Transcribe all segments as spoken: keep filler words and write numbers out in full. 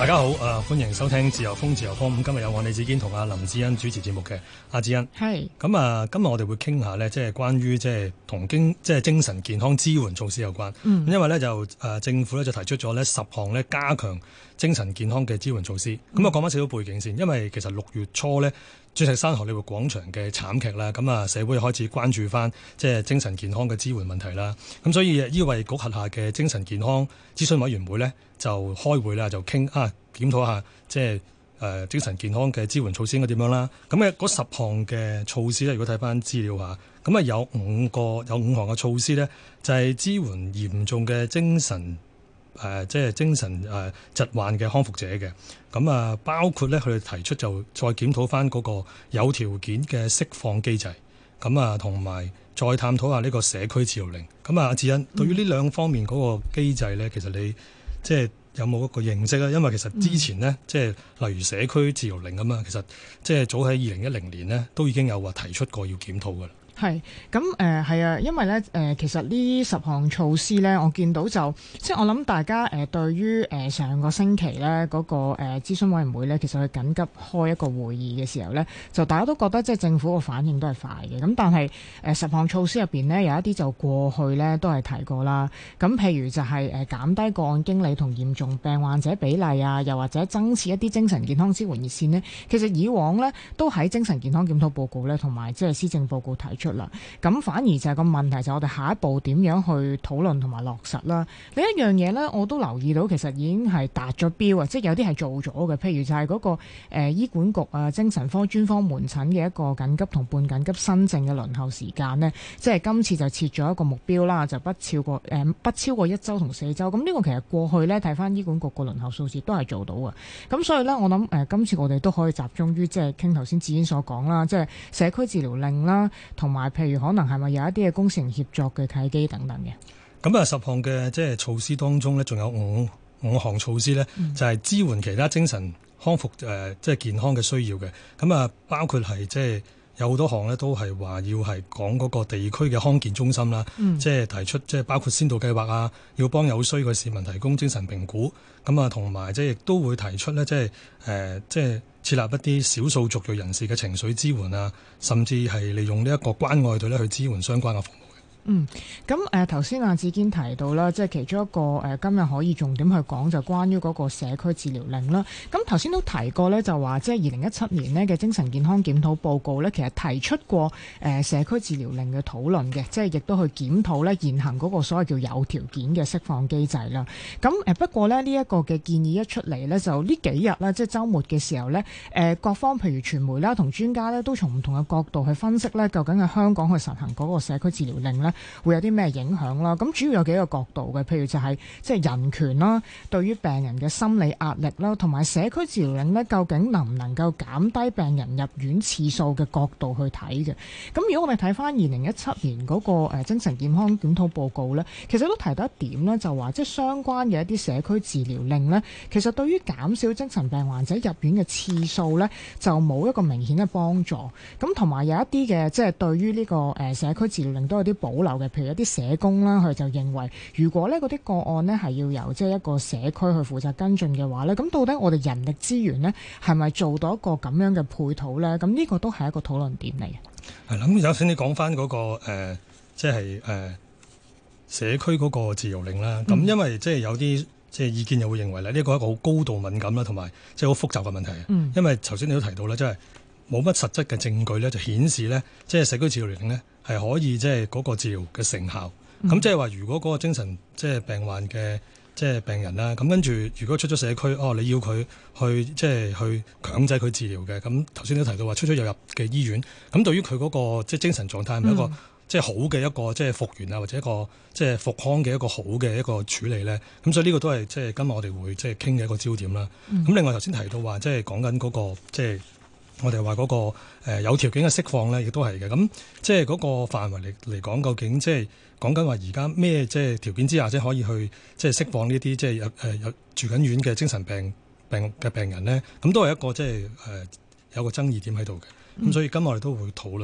大家好，誒、呃、歡迎收聽自由風自由風。咁今日有我李子堅同阿林志恩主持節目嘅。阿志恩係咁啊，今日我哋會傾下呢，即係關於即係同經即係精神健康支援措施有關。嗯，因為呢，就誒、呃、政府呢就提出咗呢十項呢加強精神健康嘅支援措施。咁、嗯、我講翻少少背景先，因為其實六月初呢，鑽石山荷里活廣場嘅慘劇啦，咁啊社會開始關注翻即係精神健康嘅支援問題啦。咁所以醫衞局轄下嘅精神健康諮詢委員會呢，就開會啦，就傾啊檢討下即係誒、呃、精神健康嘅支援措施應該點樣啦。咁嘅嗰十項嘅措施咧，如果睇翻資料下，咁啊有五個有五項嘅措施咧，就係、是、支援嚴重嘅精神誒、呃、即係精神誒、呃、疾患嘅康復者嘅。咁啊包括咧佢哋提出就再檢討翻嗰個有條件嘅釋放機制。咁啊同埋再探討下呢個社區治療令。咁啊阿志恩，對於呢兩方面嗰個機制咧，其實你即係有冇一個認識咧？因為其實之前呢，嗯、即係例如社區治療令咁啊，其實即係早喺二零一零年呢，都已經有話提出過要檢討㗎啦。 係咁誒係啊，因為咧誒、呃、其實呢十項措施咧，我見到就即係我諗大家誒、呃、對於誒、呃、上個星期咧嗰、那個誒、呃、諮詢委員會咧，其實佢緊急開一個會議嘅時候咧，就大家都覺得即係政府個反應都係快嘅。咁但係誒、呃、十項措施入邊呢，有一啲就過去咧都係提過啦。咁譬如就係誒減低個案經理同嚴重病患者比例啊，又或者增設一啲精神健康支援熱線呢，其實以往咧都喺精神健康檢討報告咧同埋即係施政報告提出啦，咁反而就係個問題就係我哋下一步點樣去討論同埋落實啦。另一樣嘢呢，我都留意到其實已經係達咗標啊，即係有啲係做咗嘅。譬如就係嗰、那個誒、呃、醫管局啊精神科專科門診嘅一個緊急同半緊急新症嘅輪候時間呢，即係今次就設咗一個目標啦，就不超過誒、呃、不超過一週同四週。咁呢個其實過去呢，睇翻醫管局個輪候數字都係做到嘅。咁所以呢，我諗誒、呃、今次我哋都可以集中於即係傾頭先志堅所講啦，即係社區治療令啦，同埋譬如可能係咪有一啲嘅公私營協作嘅契機等等嘅？ 咁啊，十項嘅即係措施當中呢，仲有五五項措施呢，嗯、就係支援其他精神康復誒、呃，即係健康嘅需要嘅。咁啊，包括係即係有好多項呢，都係話要係講嗰個地區嘅康健中心啦，嗯、即係提出即係包括先導計劃啊，要幫有需嘅市民提供精神評估。咁啊，同埋即係亦都會提出呢，即係誒、呃，即係。設立一啲少數族裔人士嘅情緒支援啊，甚至係利用呢一個關愛隊咧去支援相關嘅服務。 嗯，咁誒頭先阿志堅提到啦，即係其中一個誒、呃、今日可以重點去講就關於嗰個社區治療令啦。咁頭先都提過咧，就話即係二零一七年呢嘅精神健康檢討報告咧，其實提出過誒、呃、社區治療令嘅討論嘅，即係亦都去檢討咧現行嗰個所謂叫有條件嘅釋放機制啦。咁誒、呃、不過咧呢一、這個嘅建議一出嚟咧，就呢幾日啦，即係週末嘅時候咧，誒、呃、各方譬如傳媒啦同專家咧都從唔同嘅角度去分析咧，究竟喺香港去實行嗰個社區治療令咧，會有啲咩影響啦？咁主要有幾個角度嘅，譬如就係即係人權啦，對於病人嘅心理壓力啦，同埋社區治療令呢，究竟能唔能夠減低病人入院次數嘅角度去睇嘅？咁如果我哋睇翻二零一七年嗰個誒精神健康檢討報告呢，其實都提到一點呢，就話即係相關嘅一啲社區治療令呢，其實對於減少精神病患者入院嘅次數呢，就冇一個明顯嘅幫助。咁同埋有一啲嘅即係對於呢個誒社區治療令都有啲保留嘅。譬如一啲社工啦，佢就認為，如果呢嗰啲個案呢係要由即係一個社區去負責跟進嘅話呢，咁到底我哋人力資源呢係咪做到一個咁樣嘅配套呢？咁呢個都係一個討論點嚟嘅。係啦，咁有請你講翻嗰個誒，即係誒社區嗰個治療令啦。咁、嗯、因為即係有啲即係意見又會認為咧，呢個係一個好高度敏感啦，同埋即係好複雜嘅問題。嗯、因為頭先你都提到咧，即係冇乜實質嘅證據咧，就顯示咧，即係社區治療令咧。係可以即係嗰個治療嘅成效，咁即係話如果嗰個精神即係病患嘅即係病人啦，咁跟住如果出咗社區，哦你要佢去即係去強制佢治療嘅，咁頭先都提到話出出入入嘅醫院，咁對於佢嗰個即係精神狀態係咪一個、嗯、即係好嘅一個即係復原啊，或者一個即係復康嘅一個好嘅一個處理咧？咁所以呢個都係即係今日我哋會即係傾嘅一個焦點啦。咁、嗯、另外頭先提到話即係講緊嗰個即係。我哋話嗰個、呃、有條件嘅釋放咧，亦都係嘅。咁即係嗰個範圍嚟嚟講，究竟即係講緊話而家咩即係條件之下，即係可以去即係釋放呢啲即係有誒有住緊院嘅精神病病嘅病人咧？咁都係一個即係誒有個爭議點喺度嘅。咁、嗯、所以今日我哋都會討論啦。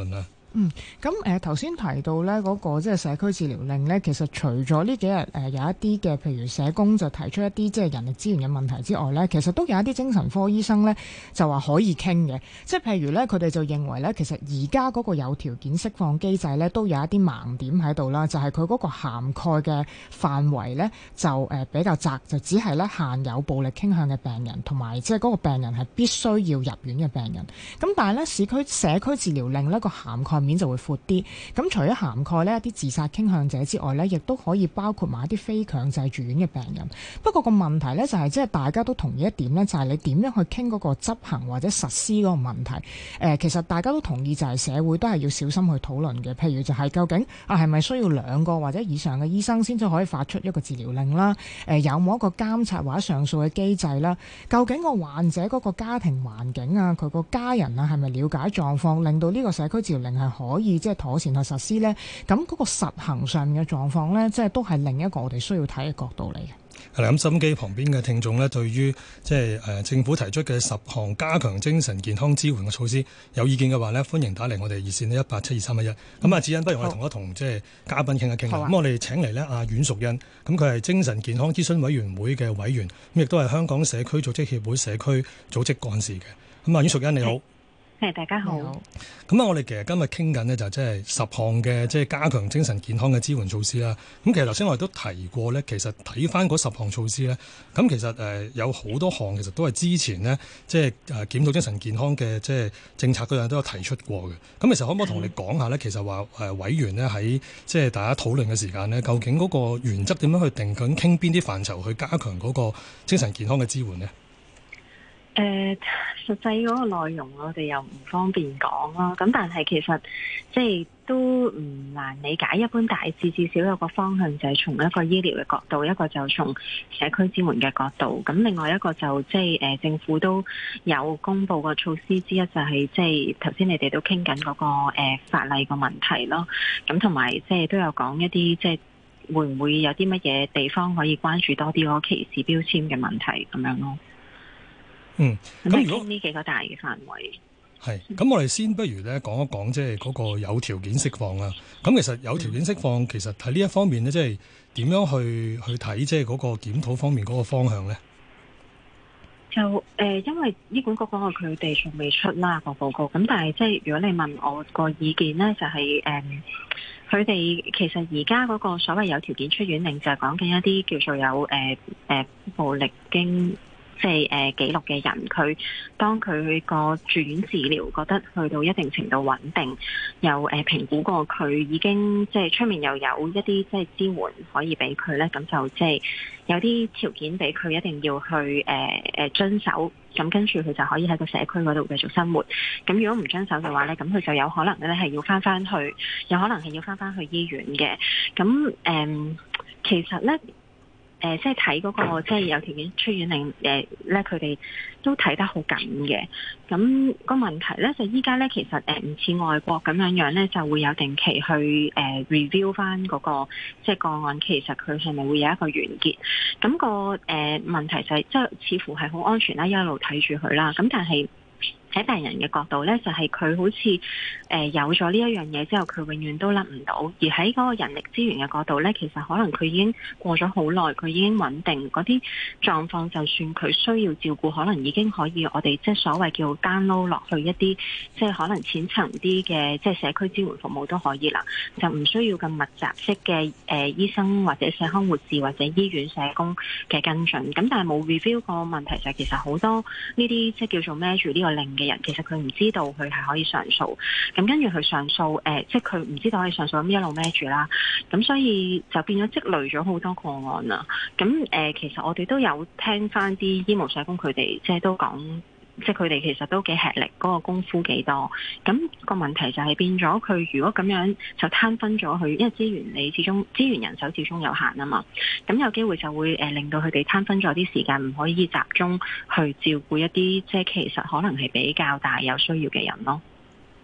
嗯，咁誒頭先提到咧嗰個即係社區治療令咧，其實除咗呢幾日誒、呃、有一啲嘅，譬如社工就提出一啲即係人力資源嘅問題之外咧，其實都有一啲精神科醫生咧就話可以傾嘅，即係譬如咧佢哋就認為咧，其實而家嗰個有條件釋放機制咧都有一啲盲點喺度啦，就係佢嗰個涵蓋嘅範圍咧就誒比較窄，就只係咧限有暴力傾向嘅病人，同埋即係嗰個病人係必須要入院嘅病人。咁但係咧市區社區治療令呢個涵蓋面就會闊啲，咁除咗涵蓋呢一啲自殺傾向者之外呢，亦都可以包括埋一啲非強制住院嘅病人。不過個問題呢，就係即係大家都同意一點呢，就係你點樣去傾嗰個執行或者實施嗰個問題。誒，其實大家都同意就係社會都係要小心去討論嘅。譬如就係究竟啊係咪需要兩個或者以上嘅醫生先至可以發出一個治療令啦？誒，有冇一個監察或者上訴嘅機制啦？究竟個患者嗰個家庭環境啊，佢個家人啊係咪了解狀況，令到呢個社區治療令係可以即係妥善去實施呢？咁嗰個實行上面嘅狀況呢，即係都係另一個我哋需要睇嘅角度嚟嘅。 係啦，咁收音機旁邊嘅聽眾呢，對於即係誒政府提出嘅十項加強精神健康支援嘅措施有意見嘅話呢，歡迎打嚟我哋熱線呢一八七二三一一。咁啊，子欣，不如我哋同一同即係嘉賓傾一傾啦。咁、啊、我哋請嚟呢阿阮淑茵，咁佢係精神健康諮詢委員會嘅委員，咁亦都係香港社區組織協會社區組織幹事嘅。咁啊，阮淑茵你好。 係，大家好。 咁啊，我哋其實今日傾緊呢，就即係十項嘅即係加強精神健康嘅支援措施啦。咁其實頭先我哋都提過呢，其實睇翻嗰十項措施呢，咁其實誒有好多項其實都係之前呢，即係誒檢討精神健康嘅即係政策嗰樣都有提出過嘅。咁其實可唔可以同你講下呢？其實話誒委員呢喺即係大家討論嘅時間呢，究竟嗰個原則點樣去定？究竟傾邊啲範疇去加強嗰個精神健康嘅支援呢？ 誒、呃，實際嗰個內容我哋又唔方便講啦。咁但係其實即係都唔難理解，一般大致至少有個方向就係從一個醫療嘅角度，一個就從社區支援嘅角度。咁另外一個就即係誒政府都有公布個措施之一，就係即係頭先你哋都傾緊嗰個誒、呃、法例個問題咯。咁同埋即係都有講一啲即係會唔會有啲乜嘢地方可以關注多啲嗰個歧視標籤嘅問題咁樣咯。 嗯，咁如果呢幾個大嘅範圍係，咁我哋先不如咧講一講即係嗰個有條件釋放啦。咁其實有條件釋放，其實喺呢一方面咧，即係點樣去去睇即係嗰個檢討方面嗰個方向咧？ 就誒、呃，因為醫管局嗰個佢哋仲未出啦個報告，咁但係即係如果你問我個意見咧，就係、是、誒，佢、呃、哋其實而家嗰個所謂有條件出院令，就係講緊一啲叫做有誒誒、呃呃、暴力經。即係誒記錄嘅人，佢當佢個住院治療覺得去到一定程度穩定，又誒、呃、評估過佢已經即係出面又有一啲即係支援可以俾佢咧，咁就即係有啲條件俾佢一定要去誒誒、呃、遵守，咁跟住佢就可以喺個社區嗰度繼續生活。咁如果唔遵守嘅話咧，咁佢就有可能咧係要翻翻去，有可能係要翻翻去醫院嘅。咁誒、呃，其實咧。誒、呃，即係睇嗰個即係有條件出院令誒咧，佢、呃、哋都睇得好緊嘅。咁、那個問題咧就依家咧，其實誒唔似外國咁樣樣咧，就會有定期去誒、呃、review 翻嗰、那個即係個案，其實佢係咪會有一個完結？咁、那個誒、呃、問題就係、是、即係似乎係好安全啦，一路睇住佢啦。咁但係喺病人嘅角度咧，就係、是、佢好似誒、呃、有咗呢一樣嘢之後，佢永遠都甩唔到。而喺嗰個人力資源嘅角度咧，其實可能佢已經過咗好耐，佢已經穩定嗰啲狀況，就算佢需要照顧，可能已經可以我哋即係所謂叫 download 落去一啲即係可能淺層啲嘅即係社區支援服務都可以啦，就唔需要咁密集式嘅誒、呃、醫生或者社康護士或者醫院社工嘅跟進。咁但係冇 review 個問題就係其實好多呢啲即係叫做孭住呢個令嘅人，其實佢唔知道佢係可以上訴，咁跟住佢上訴，誒、呃，即係佢唔知道可以上訴，咁一路孭住啦，咁所以就變咗積累咗好多個案啦。咁誒、呃，其實我哋都有聽翻啲醫務社工佢哋，即係都講，即係佢哋其實都幾吃力，嗰、那個功夫幾多。咁、那個問題就係變咗，佢如果咁樣就攤分咗佢，因為資源你始終資源人手始終有限啊嘛。咁有機會就會誒、呃、令到佢哋攤分咗啲時間，唔可以集中去照顧一啲即係其實可能係比較大有需要嘅人咯。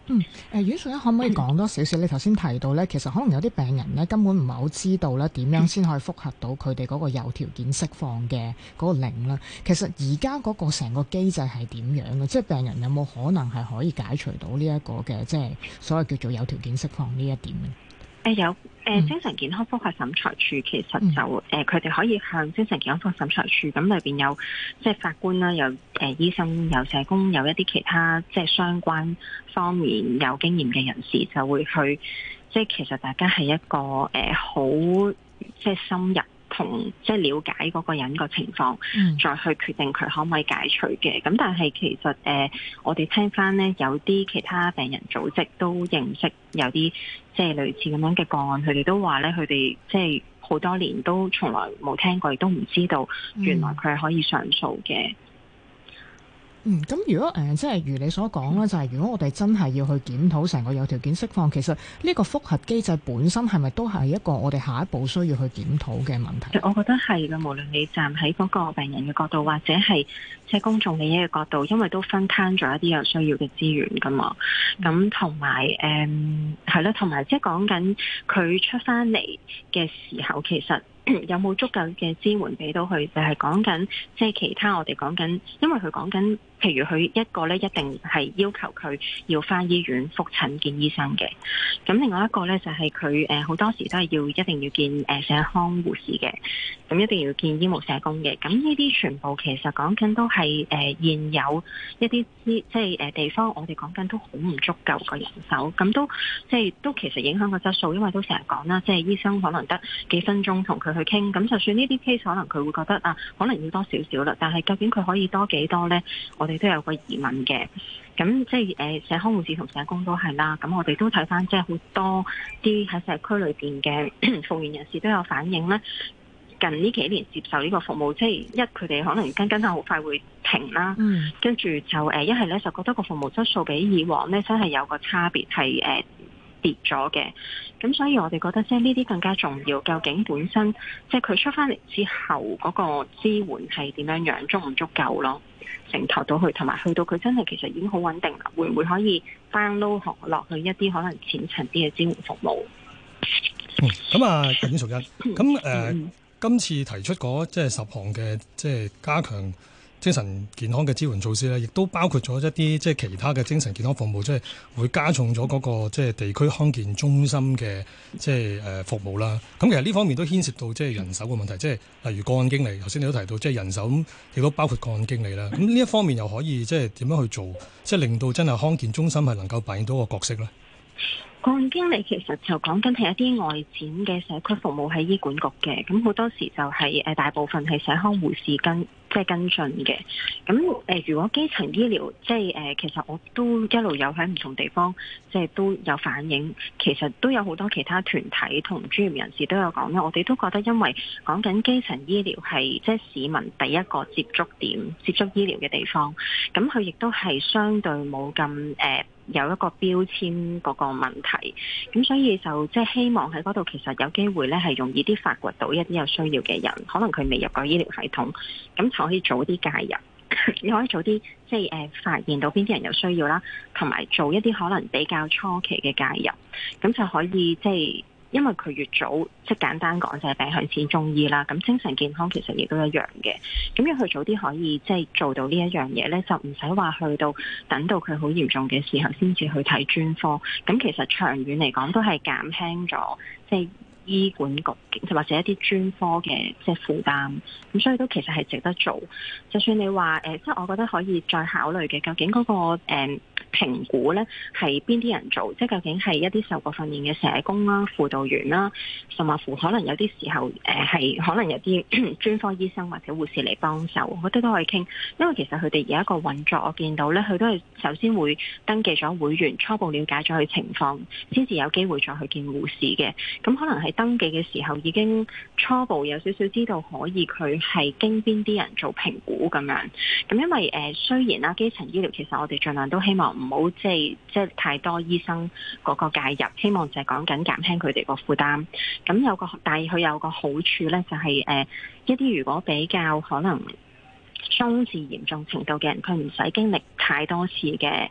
嗯，誒、呃，阮淑茵可唔可以講多少少？你頭先提到咧，其實可能有啲病人咧根本唔係好知道咧點樣先可以覆核到佢哋嗰個有條件釋放嘅嗰個令啦。其實而家嗰個成個機制係點樣嘅？即係病人有冇可能係可以解除到呢一個嘅即係所謂叫做有條件釋放呢一點咧？ 誒、呃、有誒、呃、精神健康覆核審裁處其實就誒佢哋可以向精神健康覆核審裁處，咁裏邊有即係法官啦，有誒、呃、醫生，有社工，有一啲其他即係相關方面有經驗嘅人士，就會去即係其實大家係一個誒好、呃、即係深入同即係了解嗰個人個情況，嗯、再去決定佢可唔可以解除嘅。咁但係其實誒、呃、我哋聽翻呢，有啲其他病人組織都認識有啲即係類似咁樣嘅個案，佢哋都話咧，佢哋即係好多年都從來冇聽過，亦都唔知道原來佢係可以上訴嘅。 嗯，咁如果誒、呃、即係如你所講啦，就係、是、如果我哋真係要去檢討成個有條件釋放，其實呢個覆核機制本身係咪都係一個我哋下一步需要去檢討嘅問題？ 我覺得係嘅，無論你站喺嗰個病人嘅角度，或者係即係公眾利益嘅角度，因為都分攤咗一啲有需要嘅資源噶嘛。咁同埋誒係啦，同埋即係講緊佢出翻嚟嘅時候，其實有冇足夠嘅支援俾到佢？就係講緊即係其他我哋講緊，因為佢講緊。譬如佢一個咧，一定係要求佢要返醫院覆診見醫生嘅。咁另外一個咧，就係佢誒好多時都係要一定要見誒社康護士嘅，咁一定要見醫務社工嘅。咁呢啲全部其實講緊都係誒現有一啲即係誒地方，我哋講緊都好唔足夠個人手，咁都即係都其實影響個質素，因為都成日講啦，即係醫生可能得幾分鐘同佢去傾，咁就算呢啲 case 可能佢會覺得啊，可能要多少少啦，但係究竟佢可以多幾多咧？我哋都有個疑問嘅，咁即係誒社康護士同社工都係啦，咁我哋都睇翻即係好多啲喺社區裏邊嘅復原人士都有反映咧，近呢幾年接受呢個服務，即係一佢哋可能跟跟下好快會停啦，嗯、跟住就誒一係咧就覺得個服務質素比以往咧真係有個差別係誒、呃、跌咗嘅，咁所以我哋覺得即係呢啲更加重要，究竟本身即係佢出翻嚟之後嗰個支援係點樣樣，足唔足夠咯？承托到去，同埋去到佢真係其實已經好穩定啦，會唔會可以 download 落去一啲可能淺層啲嘅支援服務？ 嗯，咁啊，阮淑茵，咁誒、呃嗯、今次提出嗰即係十項嘅即係加強精神健康嘅支援措施咧，亦都包括咗一啲即係其他嘅精神健康服務，即係會加重咗嗰個即係地區康健中心嘅即係誒服務啦。咁其實呢方面都牽涉到即係人手嘅問題，即係例如個案經理，頭先你都提到即係人手，咁亦都包括個案經理啦。咁呢一方面又可以即係點樣去做，即係令到真係康健中心係能夠扮演到個角色咧？ 個案經理其實就講緊係一啲外展嘅社區服務喺醫管局嘅，咁好多時就係誒大部分係社康護士跟即係跟進嘅。咁誒、呃，如果基層醫療即係誒、呃，其實我都一路有喺唔同地方即係都有反映，其實都有好多其他團體同專業人士都有講咧。我哋都覺得因為講緊基層醫療係即係市民第一個接觸點、接觸醫療嘅地方，咁佢亦都係相對冇咁誒。呃有一個標籤嗰個問題，咁所以就即係希望喺嗰度其實有機會咧係容易啲發掘到一啲有需要嘅人，可能佢未入過醫療系統，咁就可以早啲介入，你可以早啲即係誒發現到邊啲人有需要啦，同埋做一啲可能比較初期嘅介入，咁就可以即係。因為佢越早，即係簡單講就係病向淺中醫啦。咁精神健康其實亦都一樣嘅。咁要佢早啲可以即係做到呢一樣嘢咧，就唔使話去到等到佢好嚴重嘅時候先至去睇專科。咁其實長遠嚟講都係減輕咗即係醫管局或者一啲專科嘅即係負擔。咁所以都其實係值得做。就算你話誒、呃，即係我覺得可以再考慮嘅，究竟嗰、那個誒。呃評估咧係邊啲人做？即係究竟係一啲受過訓練嘅社工啦、輔導員啦，甚至乎可能有啲時候誒係、呃、可能有啲專科醫生或者護士嚟幫手，我覺得都可以傾。因為其實佢哋而家個運作，我見到咧，佢都係首先會登記咗會員，初步了解咗佢情況，先至有機會再去見護士嘅。咁可能喺登記嘅時候已經初步有少少知道可以佢係經邊啲人做評估咁樣。咁因為誒、呃、雖然啦，基層醫療其實我哋盡量都希望唔好即係即係太多醫生嗰個介入，希望就係講緊減輕佢哋個負擔。咁有個，但係佢有個好處咧，就係、是、誒、呃、一啲如果比較可能中至嚴重程度嘅人，佢唔使經歷太多次嘅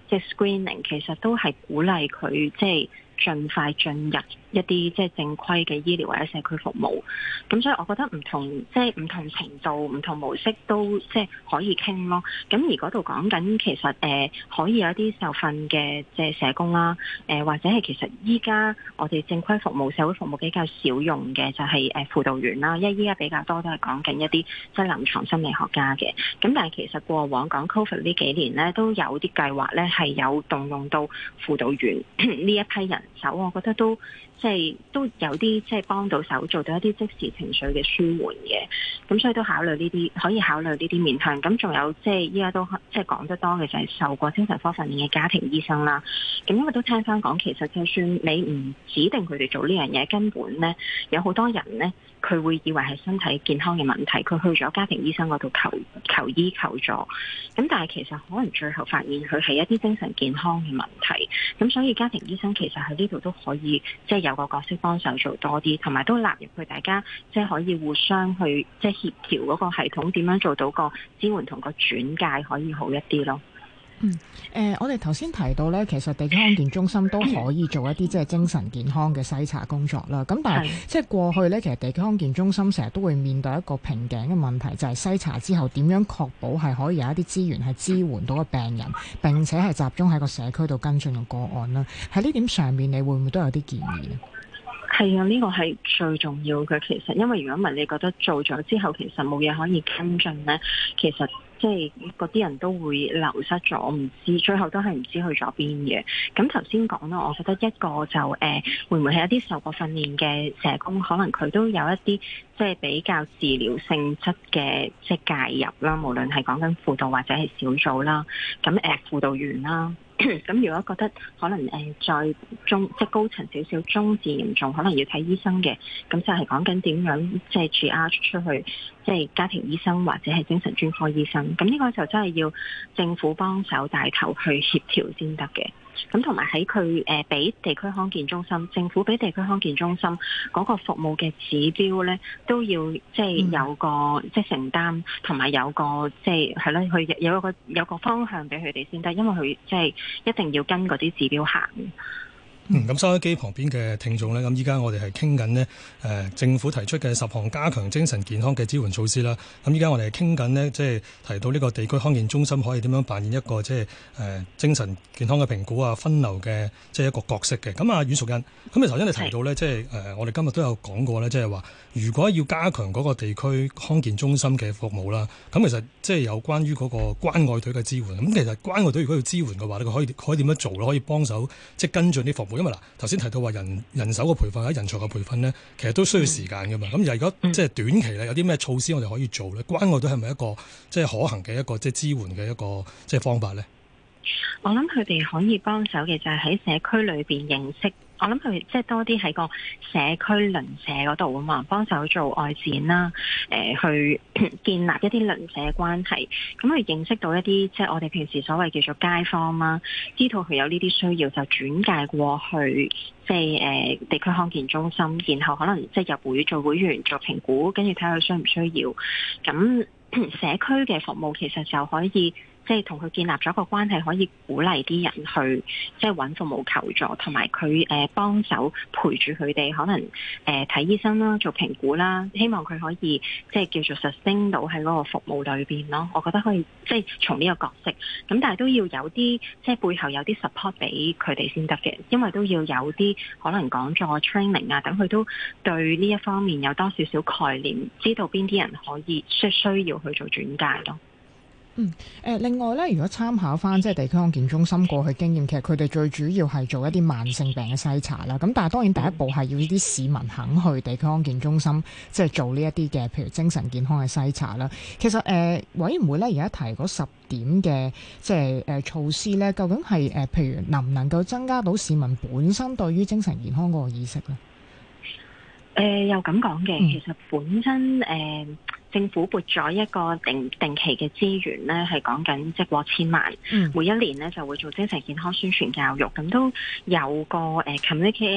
即係 screening，其實都係鼓勵佢即係盡快進入一啲即係正規嘅醫療或者社區服務。咁所以我覺得唔同即係唔同程度、唔同模式都即係可以傾咯。咁而嗰度講緊其實誒、呃、可以有一啲受訓嘅即係社工啦，誒、呃、或者係其實依家我哋正規服務、社會服務比較少用嘅就係誒輔導員啦，因為依家比較多都係講緊一啲即係臨床心理學家嘅。咁但係其實過往講 COVID 呢幾年咧，都有啲計劃咧係有動用到輔導員呢一批人手，我覺得都即係都有啲即係幫到手，做到一啲即時情緒嘅舒緩嘅。咁所以都考慮呢啲，可以考慮呢啲面向。咁仲有即係依家都即係講得多嘅就係受過精神科訓練嘅家庭醫生啦。咁因為都聽翻講，其實就算你唔指定佢哋做呢樣嘢，根本咧有好多人咧，佢會以為係身體健康嘅問題，佢去咗家庭醫生嗰度求求醫求助。咁但係其實可能最後發現佢係一啲精神健康嘅問題。咁所以家庭醫生其實喺呢度都可以即係有個角色幫手做多啲，同埋都納入去大家即係可以互相去即係協調嗰個系統，點樣做到個支援同個轉介可以好一啲咯。 嗯，誒、呃，我哋頭先提到咧，其實地區康健中心都可以做一啲即係精神健康嘅篩查工作啦。咁但係即係過去咧，其實地區康健中心成日都會面對一個瓶頸嘅問題，就係、是、篩查之後點樣確保係可以有一啲資源係支援到個病人，並且係集中喺個社區度跟進個個案啦。喺呢點上面，你會唔會都有啲建議呢？ 係啊，呢個係最重要嘅。其實因為如果唔係，你覺得做咗之後其實冇嘢可以跟進咧，其實即係嗰啲人都會流失咗，唔知最後都係唔知去咗邊嘅。咁頭先講啦，我覺得一個就誒、呃、會唔會係一啲受過訓練嘅社工，可能佢都有一啲即係比較治療性質嘅即係介入啦，無論係講緊輔導或者係小組啦，咁誒、呃、輔導員啦。咁如果覺得可能誒再中即係高層少少中至嚴重，可能要睇醫生嘅，咁就係講緊點樣即係 triage 出去，即係家庭醫生或者係精神專科醫生。咁呢個就真係要政府幫手帶頭去協調先得嘅。咁同埋喺佢誒俾地區康健中心，政府俾地區康健中心嗰個服務嘅指標咧，都要即係有個、嗯、即係承擔，同埋有個即係係咯，佢有一個有個方向俾佢哋先得，因為佢即係一定要跟嗰啲指標行。 嗯，咁收音機旁邊嘅聽眾呢，咁依家我哋係傾緊呢誒政府提出嘅十項加強精神健康嘅支援措施啦。咁依家我哋係傾緊呢，即係提到呢個地區康健中心可以點樣扮演一個即係誒精神健康嘅評估啊、分流嘅即係一個角色嘅。咁啊，阮淑茵，咁你頭先你提到呢，即係誒我哋今日都有講過呢，即係話如果要加強嗰個地區康健中心嘅服務啦，咁其實即係有關於嗰個關愛隊嘅支援。咁其實關愛隊如果要支援嘅話，佢可以可以點樣做咧？可以幫手即係跟進啲服務。因為嗱，頭先提到話人人手嘅培訓或者人才嘅培訓咧，其實都需要時間噶嘛。咁、嗯、如果即係短期咧，有啲咩措施我哋可以做咧？關愛隊係咪一個即係可行嘅一個即係支援嘅一個即係方法咧？ 我諗佢哋可以幫手嘅就係喺社區裏邊認識。我諗佢即係多啲喺個社區鄰舍嗰度啊嘛，幫手做外展啦，誒、呃、去建立一啲鄰舍關係，咁去認識到一啲即係我哋平時所謂叫做街坊啦，知道佢有呢啲需要就轉介過去即係誒、呃、地區康健中心，然後可能即係入會做會員做評估，跟住睇下佢需唔需要。咁社區嘅服務其實就可以。即係同佢建立咗個關係，可以鼓勵啲人去即係揾服務求助，同埋佢誒幫手陪住佢哋，可能誒睇、呃、醫生啦，做評估啦，希望佢可以即係叫做 sustain 到喺嗰個服務裏邊咯。我覺得可以即係從呢個角色，咁但係都要有啲即係背後有啲 support 俾佢哋先得嘅，因為都要有啲可能講座 training 啊，等佢都對呢一方面有多少少概念，知道邊啲人可以需需要去做轉介咯。 嗯，誒、呃，另外咧，如果參考翻即係地區康健中心過去經驗，其實佢哋最主要係做一啲慢性病嘅篩查啦。咁但係當然第一步係要呢啲市民肯去地區康健中心，即係做呢一啲嘅，譬如精神健康嘅篩查啦。其實誒、呃，委員會咧而家提嗰十點嘅即係誒、呃、措施咧，究竟係誒、呃，譬如能唔能夠增加到市民本身對於精神健康嗰個意識咧？ 誒、呃，又咁講嘅，其實本身誒。呃政府撥咗一個定定期嘅資源咧，係講緊即係過千萬，嗯、每一年咧就會做精神健康宣傳教育，咁都有個誒、呃、communication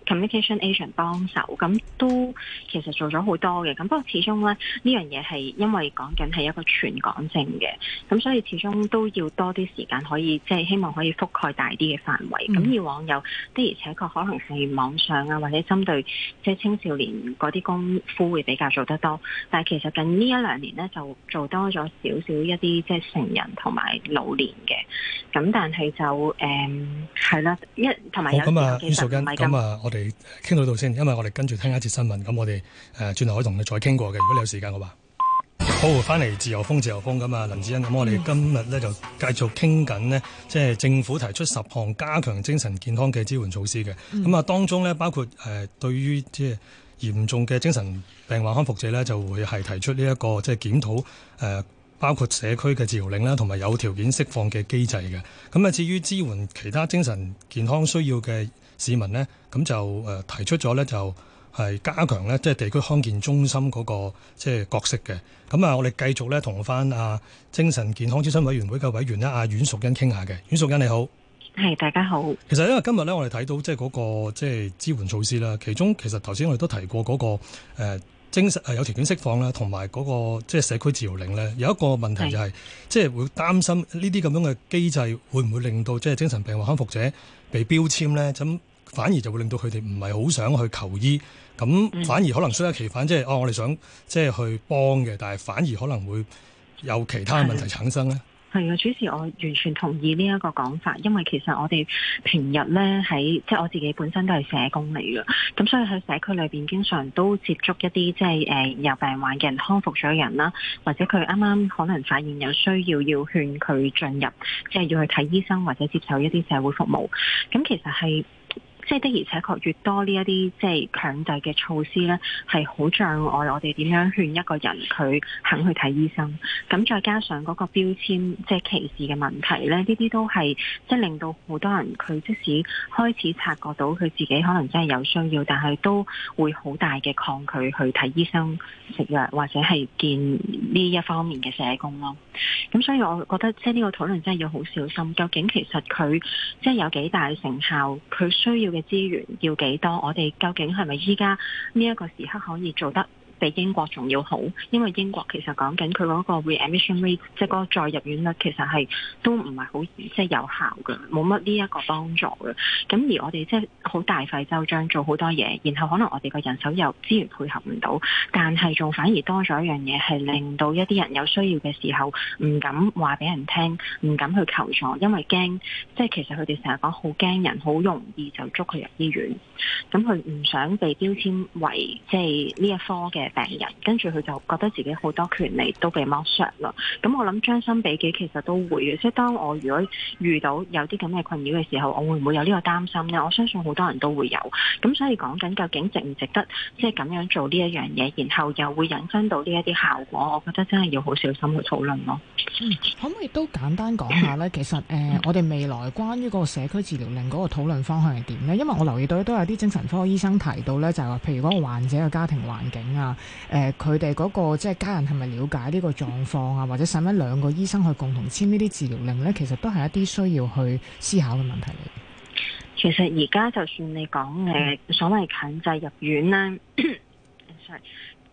communication agent 幫手，咁都其實做咗好多嘅。咁不過始終咧呢樣嘢係因為講緊係一個全港性嘅，咁所以始終都要多啲時間可以即係希望可以覆蓋大啲嘅範圍。咁、嗯、以往有的而且確可能係網上啊，或者針對即係青少年嗰啲功夫會比較做得多，但係其實近呢一兩年咧就做多咗少少一啲即係成人同埋老年嘅。咁但係就誒係啦，一同埋有咁啊，阮淑茵， 咁咁啊，我哋傾到度先，因為我哋跟住聽一節新聞，咁我哋誒轉頭可以同你再傾過嘅，如果你有時間嘅話。好，翻嚟自由風，自由風咁啊，林子欣，咁我哋今日咧就繼續傾緊呢，即係政府提出十項加強精神健康嘅支援措施嘅。咁啊、嗯，當中咧包括誒對於即係嚴重嘅精神病患康復者咧，就會係提出呢一個即係檢討誒，包括社區嘅治療令啦，同埋有條件釋放嘅機制嘅。咁啊，至於支援其他精神健康需要嘅市民呢，咁就誒提出咗咧就。係加強咧，即係地區康健中心嗰個即係角色嘅。咁啊，我哋繼續咧同翻啊精神健康諮詢委員會嘅委員咧，阿阮淑茵傾下嘅。阮淑茵你好， 係大家好。 其實因為今日咧，我哋睇到即係嗰個即係支援措施啦，其中其實頭先我哋都提過嗰個誒精神誒有條件釋放啦，同埋嗰個即係社區治療令咧，有一個問題就係即係會擔心呢啲咁樣嘅機制會唔會令到即係精神病患康復者被標籤咧？咁反而就會令到佢哋唔係好想去求醫，咁反而可能適得其反，即係哦，我哋想即係去幫嘅，但係反而可能會有其他問題產生咧。 係啊，主持我完全同意呢一個講法，因為其實我哋平日咧喺即係我自己本身都係社工嚟嘅，咁所以喺社區裏邊經常都接觸一啲即係誒有病患嘅人康復咗嘅人啦，或者佢啱啱可能發現有需要要勸佢進入，即係要去睇醫生或者接受一啲社會服務，咁其實係。即係的而且確越多呢一啲即係強制嘅措施咧，係好障礙我哋點樣勸一個人佢肯去睇醫生。咁再加上嗰個標籤即係歧視嘅問題咧，呢啲都係即係令到好多人佢即使開始察覺到佢自己可能真係有需要，但係都會好大嘅抗拒去睇醫生、食藥或者係見呢一方面嘅社工咯。咁所以我覺得即係呢個討論真係要好小心，究竟其實佢即係有幾大成效，佢需要嘅資源要幾多？我哋究竟係咪依家呢一個時刻可以做得比英國仲要好？因為英國其實講緊佢嗰個 readmission rate，即係嗰個再入院率，其實係都唔係好即係有效嘅，冇乜呢一個幫助嘅。咁而我哋即係好大費周章做好多嘢，然後可能我哋個人手又資源配合唔到，但係仲反而多咗一樣嘢，係令到一啲人有需要嘅時候唔敢話俾人聽，唔敢去求助，因為驚即係其實佢哋成日講好驚人，好容易就捉佢入醫院。咁佢唔想被標籤為即係呢一科嘅病人，跟住佢就覺得自己好多權利都被剝削啦。咁我諗將心比己，其實都會嘅。即係當我如果遇到有啲咁嘅困擾嘅時候，我會唔會有呢個擔心呢？我相信好多人都會有。咁所以講緊究竟值唔值得即係咁樣做呢一樣嘢，然後又會引申到呢一啲效果，我覺得真係要好小心去討論咯。 嗯，可唔可以都簡單講下呢？其實誒、呃，我哋未來關於嗰個社區治療令嗰個討論方向係點呢？因為我留意到都有啲精神科醫生提到呢，就係話，譬如嗰個患者嘅家庭環境啊，誒佢哋嗰個即係家人係咪了解呢個狀況啊，或者使唔使兩個醫生去共同簽呢啲治療令呢？其實都係一啲需要去思考嘅問題嚟。 其實而家就算你講誒所謂強制入院啦，sorry。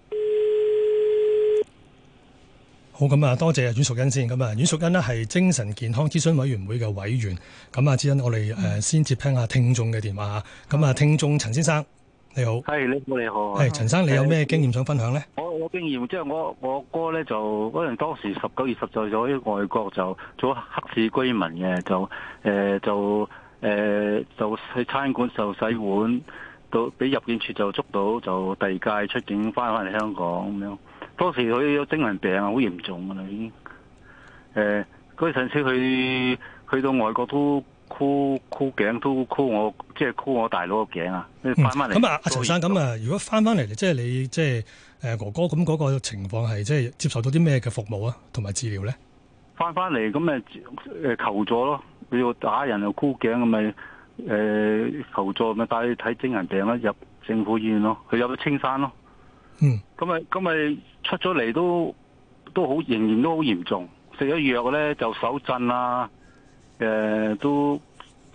好，咁啊，多謝阮淑茵先。咁啊，阮淑茵呢係精神健康諮詢委員會嘅委員。咁啊，之恩，我哋誒先接聽下聽眾嘅電話。咁啊，聽眾陳先生，你好。 係，你好，你好。 係陳生，你有咩經驗想分享呢？ 我我經驗即係我我哥咧就嗰陣當時十九二十歲咗喺外國就做黑市居民嘅，就誒、呃、就誒、呃、就去餐館就洗碗，到俾入境處就捉到，就第二屆出境翻返嚟香港咁樣。當時佢有精神病啊，好嚴重噶啦已經。誒嗰陣時佢去到外國都箍箍頸，都箍我即係箍我大佬個頸啊！翻翻嚟咁啊，阿陳生咁啊，如果翻翻嚟即係你即係誒哥哥咁嗰個情況係即係接受到啲咩嘅服務啊，同埋治療咧？ 翻翻嚟咁誒誒求助咯，佢要打人又箍頸咁咪誒求助咪帶去睇精神病啦，入政府醫院咯，佢入咗青山咯。 嗯， 咁咪咁咪出咗嚟都都好，仍然都好嚴重。食咗藥咧就手震啊，誒、呃、都都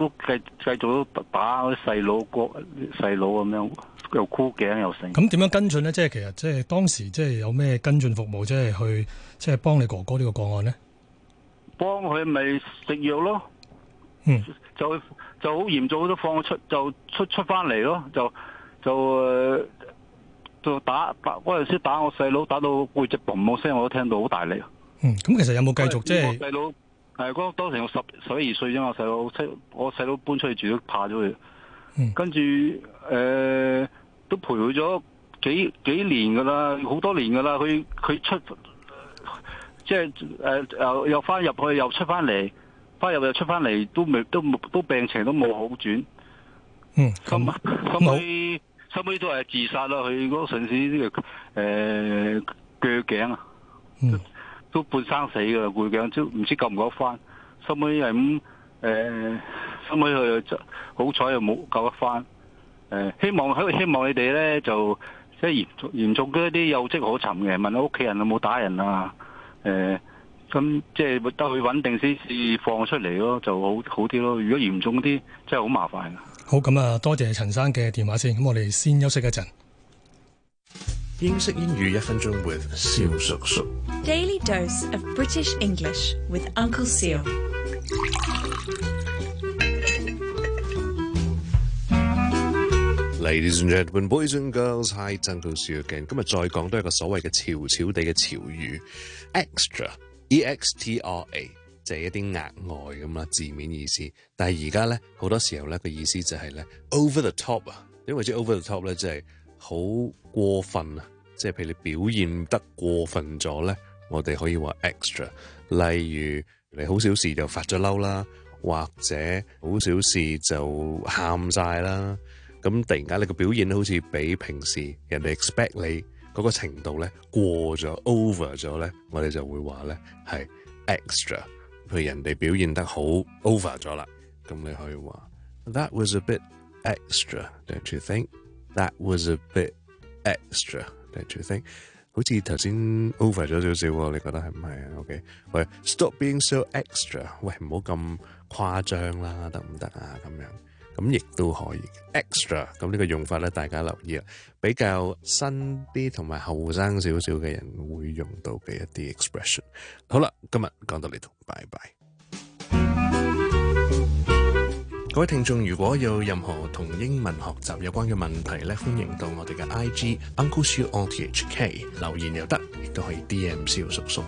都繼繼續都打嗰啲細佬哥細佬咁樣，又箍頸又成。 咁點樣跟進咧？即係其實即係當時即係有咩跟進服務，即係去即係幫你哥哥呢個個案咧？ 幫佢咪食藥咯， 嗯， 就就好嚴重都放出就出出翻嚟咯，就就誒、呃、就打打嗰陣時打我細佬，打到背脊嘣冇聲，我都聽到好大力。 嗯，咁其實有冇繼續即係？ 細佬係嗰當時我十十一二歲啫嘛，細佬我細佬搬出去住都怕咗佢。 嗯， 跟住誒、呃、都陪佢咗幾幾年噶啦，好多年噶啦，佢佢出。即係誒又又翻入去又出翻嚟，翻入又出翻嚟，都未都都病情都冇好轉。 嗯， 咁咁佢收尾都係自殺啦。佢嗰陣時呢個誒鋸頸啊， 嗯， 都半生死噶啦，鋸頸都唔知救唔救得翻。收尾係咁誒，收尾佢好彩又冇救得翻。誒、呃，希望希望你哋咧就即係嚴重嚴重嗰啲有跡可尋嘅，問下屋企人有冇打人啊？誒、呃，咁即係得佢穩定先至放出嚟咯，就好好啲咯。如果嚴重啲，真係好麻煩。 好，咁啊，多謝陳生嘅電話先。咁我哋先休息一陣。 英式英語一分鐘 with 蕭叔叔。 Daily dose of British English with Uncle Seal。 Ladies and gentlemen, boys and girls, hi, Uncle Seal again。今日再講多一個所謂嘅潮潮地嘅潮語 ，extra，e x t r a，就係一啲額外咁啦，字面意思。但係而家咧好多時候咧個意思就係咧 over the top 啊，因為即係 over the top 咧，即係好過分啊，即係譬如你表現得過分咗咧，我哋可以話 extra。例如你好小事就發咗嬲啦，或者好小事就喊晒啦。咁突然間你個表現好似比平時人哋 expect 你嗰個程度咧過咗 over 咗咧，我哋就會話咧係 extra。譬如人哋表現得好 over 咗啦，咁你可以話 That was a bit extra, don't you think? That was a bit extra, don't you think? 好似頭先 over 咗少少喎，你覺得係唔係啊 ？OK， 喂 ，Stop being so extra， 喂，唔好咁誇張啦，得唔得啊？咁樣。咁亦都可以 extra， 咁呢個用法咧，大家留意啦，比較新啲同埋後生少少嘅人會用到嘅一啲 expression。好啦，今日講到呢度，拜拜。各位聽眾，如果有任何同英文學習有關嘅問題咧，歡迎到我哋嘅 I G Uncle Siu O T H K 留言又得，亦都可以 D M 蕭叔叔。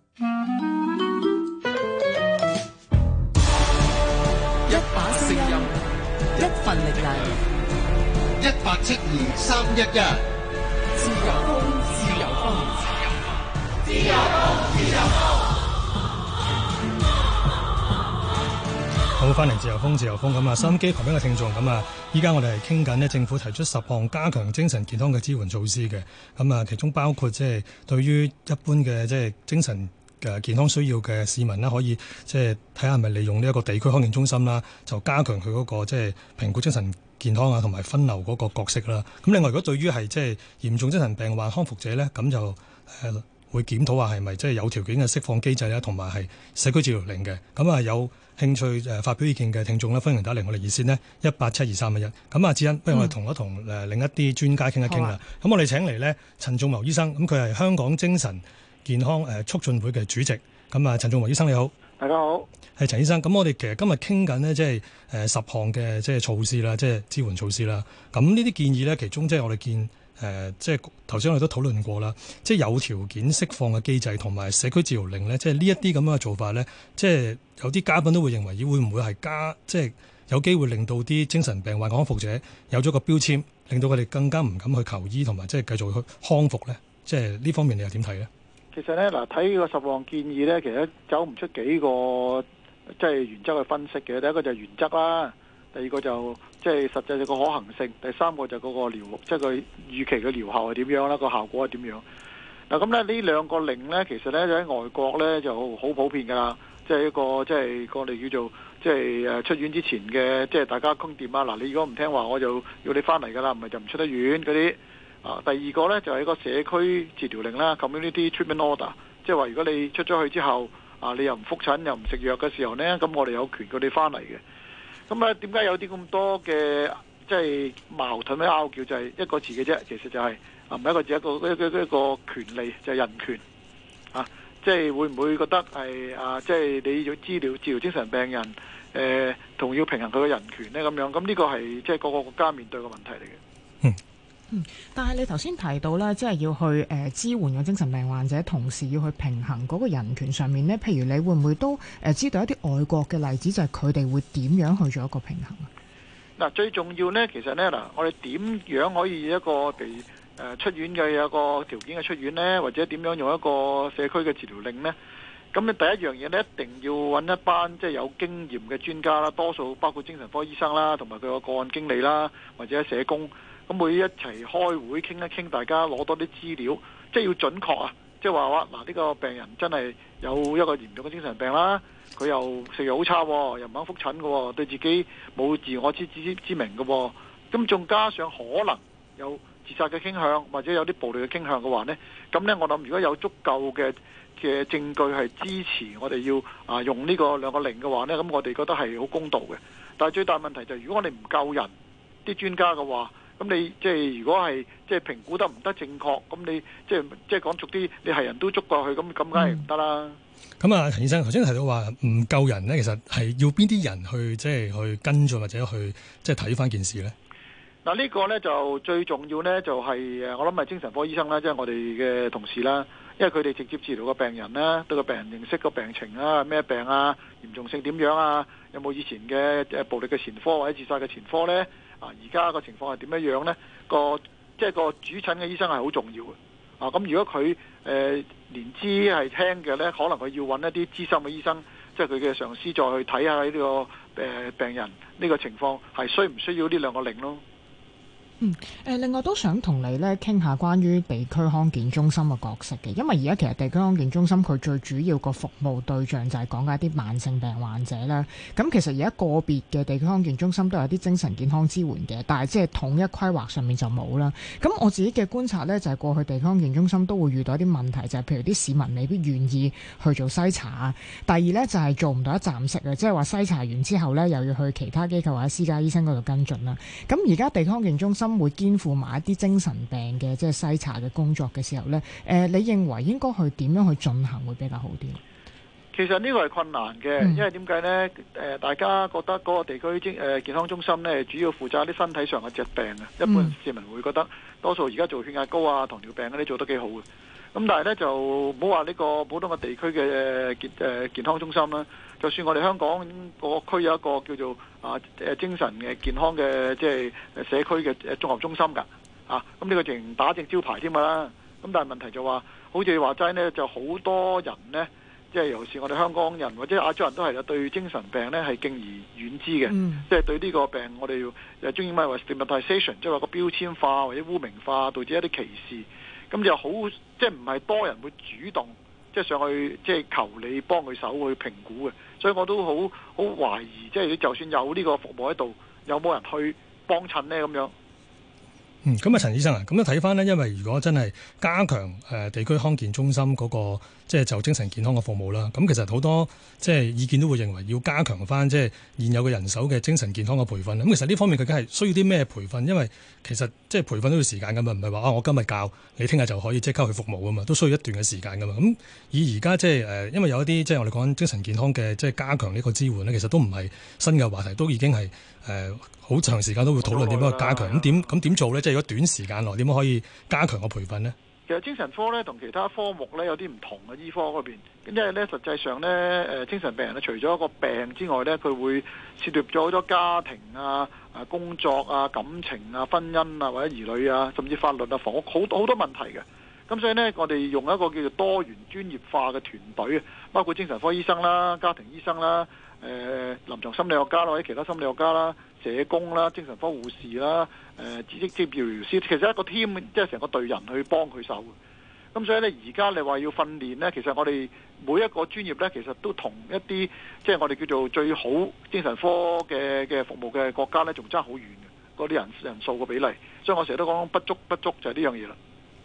一把聲音，一份力量，一八七二三一一。自由風，自由風，自由風，自由風。 好，翻嚟自由風，自由風咁啊！收音機旁邊嘅聽眾咁啊，依家我哋係傾緊呢政府提出十項加強精神健康嘅支援措施嘅，咁啊，其中包括即係對於一般嘅即係精神嘅健康需要嘅市民啦，可以即係睇下係咪利用呢一個地區康健中心啦，就加強佢嗰個即係評估精神健康啊，同埋分流嗰個角色啦。咁另外，如果對於係即係嚴重精神病患康復者咧，咁就誒會檢討下係咪即係有條件嘅釋放機制啦，同埋係社區治療令嘅。咁啊，有興趣誒發表意見嘅聽眾咧，歡迎打嚟我哋熱線呢一八七二三一一。咁啊，智恩，不如我哋同一同誒另一啲專家傾一傾啦。咁、啊、我哋請嚟咧陳仲謀醫生，咁佢係香港精神健康誒促進會嘅主席。咁啊，陳仲謀醫生你好。 大家好。係陳醫生。咁我哋其實今日傾緊呢，即係誒十項嘅即係措施啦，即係支援措施啦。咁呢啲建議咧，其中即係我哋見。誒、呃，即係頭先我哋都討論過啦，即係有條件釋放嘅機制同埋社區治療令咧，即係呢一啲咁樣嘅做法咧，即係有啲嘉賓都會認為，咦會唔會係加，即係有機會令到啲精神病患康復者有咗個標籤，令到佢哋更加唔敢去求醫同埋即係繼續去康復咧？即係呢方面你又點睇咧？ 其實咧，嗱睇個十項建議咧，其實走唔出幾個即係原則去分析嘅。第一個就係原則啦。第二個就即係實際嘅個可行性，第三個就嗰個療，即係佢預期嘅療效係點樣啦，個效果係點樣？嗱咁咧呢兩個令咧，其實咧喺外國咧就好普遍㗎啦，即係一個即係我哋叫做即係誒出院之前嘅，即係大家傾掂啊！嗱，你如果唔聽話，我就要你翻嚟㗎啦，唔係就唔出得院嗰啲啊。第二個咧就係一個社區治療令啦 ，community treatment order， 即係話如果你出咗去之後啊，你又唔覆診又唔食藥嘅時候咧，咁我哋有權叫你翻嚟嘅。 咁啊，點解有啲咁多嘅即係矛盾嘅拗撬？就係一個字嘅啫，其實就係啊，唔係一個字，一個一個一個權利就係人權啊。即係會唔會覺得係啊？即係你要治療治療精神病人，誒同要平衡佢嘅人權咧咁樣？咁呢個係即係各個國家面對嘅問題嚟嘅。 嗯。 嗯，但係你頭先提到咧，即係要去誒、呃、支援個精神病患者，同時要去平衡嗰個人權上面咧。譬如你會唔會都誒、呃、知道一啲外國嘅例子，就係佢哋會點樣去做一個平衡啊？ 嗱，最重要咧，其實咧嗱，我哋點樣可以一個地誒、呃、出院嘅有一個條件嘅出院咧，或者點樣用一個社區嘅治療令咧？咁你第一樣嘢咧，一定要揾一班即係有經驗嘅專家啦，多數包括精神科醫生啦，同埋佢個個案經理啦，或者社工。咁會一齊開會傾一傾，大家攞多啲資料，即係要準確啊！即係話話嗱，呢個病人真係有一個嚴重嘅精神病啦，佢又食藥好差，又唔肯覆診嘅，對自己冇自我之知之明嘅，咁仲加上可能有自殺嘅傾向，或者有啲暴力嘅傾向嘅話呢，咁呢，我諗如果有足夠嘅嘅證據係支持我哋要啊用呢個兩個令嘅話呢，咁我哋覺得係好公道嘅。但係最大問題就係如果我哋唔夠人，啲專家嘅話，咁你即係如果係即係評估得唔得正確，咁你即係即係講俗啲，你係人都捉過去，咁咁梗係唔得啦。 咁啊，陳醫生頭先提到話唔夠人咧，其實係要邊啲人去即係去跟進或者去即係睇翻件事咧？ 嗱，呢個咧就最重要咧，就係誒我諗係精神科醫生啦，即係我哋嘅同事啦，因為佢哋直接治療個病人啦，對個病人認識個病情啊，咩病啊，嚴重性點樣啊，有冇以前嘅誒暴力嘅前科或者自殺嘅前科咧？啊！而家個情況係點樣樣呢？個即係個主診嘅醫生係好重要嘅。啊，咁如果佢誒、呃、年資係輕嘅呢，可能佢要揾一啲資深嘅醫生，即係佢嘅上司再去睇下呢、這個誒、呃、病人呢個情況係需唔需要呢兩個令咯。 嗯，誒，另外都想同你咧傾下關於地區康健中心嘅角色嘅，因為而家其實地區康健中心佢最主要個服務對象就係講緊一啲慢性病患者啦。咁其實而家個別嘅地區康健中心都有啲精神健康支援嘅，但係即係統一規劃上面就冇啦。咁我自己嘅觀察咧，就係過去地區康健中心都會遇到一啲問題，就係譬如啲市民未必願意去做篩查啊。第二咧就係做唔到一站式嘅，即係話篩查完之後咧又要去其他機構或者私家醫生嗰度跟進啦。咁而家地區康健中心會肩負埋一啲精神病嘅即係篩查嘅工作嘅時候呢，誒、呃，你認為應該去點樣去進行會比較好啲？ 其實呢個係困難嘅，嗯、因為點解呢？誒，大家覺得嗰個地區精誒健康中心呢，主要負責啲身體上嘅疾病啊。一般市民會覺得，多數而家做血壓高啊、糖尿病嗰啲做得幾好嘅。咁但係呢，就唔好話呢個普通嘅地區嘅健誒健康中心啦。就算我哋香港個區有一個叫做啊誒精神嘅健康嘅即係社區嘅誒綜合中心㗎，啊咁呢個淨打正招牌添㗎啦。咁但係問題就話，好似你話齋呢，就好多人呢，即係尤其是我哋香港人或者亞洲人都係啦，對精神病呢係敬而遠之嘅，嗯、即係對呢個病我哋要誒中英文話 stigmatization，即係話個標籤化或者污名化，導致一啲歧視。咁就好即係唔係多人會主動即係上去即係求你幫佢手去評估嘅。所以我都好好懷疑，即係你就算有呢個服務喺度，有冇人去幫襯呢？咁樣？ 嗯，咁啊，陳醫生啊，咁樣睇翻呢，因為如果真係加強誒地區康健中心嗰個即係就精神健康嘅服務啦，咁其實好多即係意見都會認為要加強翻即係現有嘅人手嘅精神健康嘅培訓。咁其實呢方面究竟係需要啲咩培訓？因為其實即係培訓都要時間噶嘛，唔係話啊我今日教你聽日就可以即刻去服務噶嘛，都需要一段嘅時間噶嘛。咁以而家即係誒，因為有一啲即係我哋講緊精神健康嘅即係加強呢個支援呢，其實都唔係新嘅話題，都已經係誒好長時間都會討論點樣去加強。咁點咁點做呢？即係如果短時間內點樣可以加強個培訓呢？ 其實精神科咧同其他科目咧有啲唔同嘅，醫科嗰邊，因為咧實際上咧誒精神病人咧除咗一個病之外咧，佢會涉獵咗好多家庭啊、啊工作啊、感情啊、婚姻啊或者兒女啊，甚至法律啊、房屋好好多問題嘅。咁所以呢，我哋用一個叫做多元專業化嘅團隊，包括精神科醫生啦、家庭醫生啦、誒、呃、臨床心理學家或者其他心理學家啦、社工啦、精神科護士啦、誒、呃、知識職業治療師，其實一個 team 即係成個隊人去幫佢手嘅。咁所以呢，而家你話要訓練呢，其實我哋每一個專業呢，其實都同一啲即係我哋叫做最好精神科嘅嘅服務嘅國家呢，仲爭好遠嘅嗰啲人人數嘅比例。所以我成日都講不足不足就係呢樣嘢啦。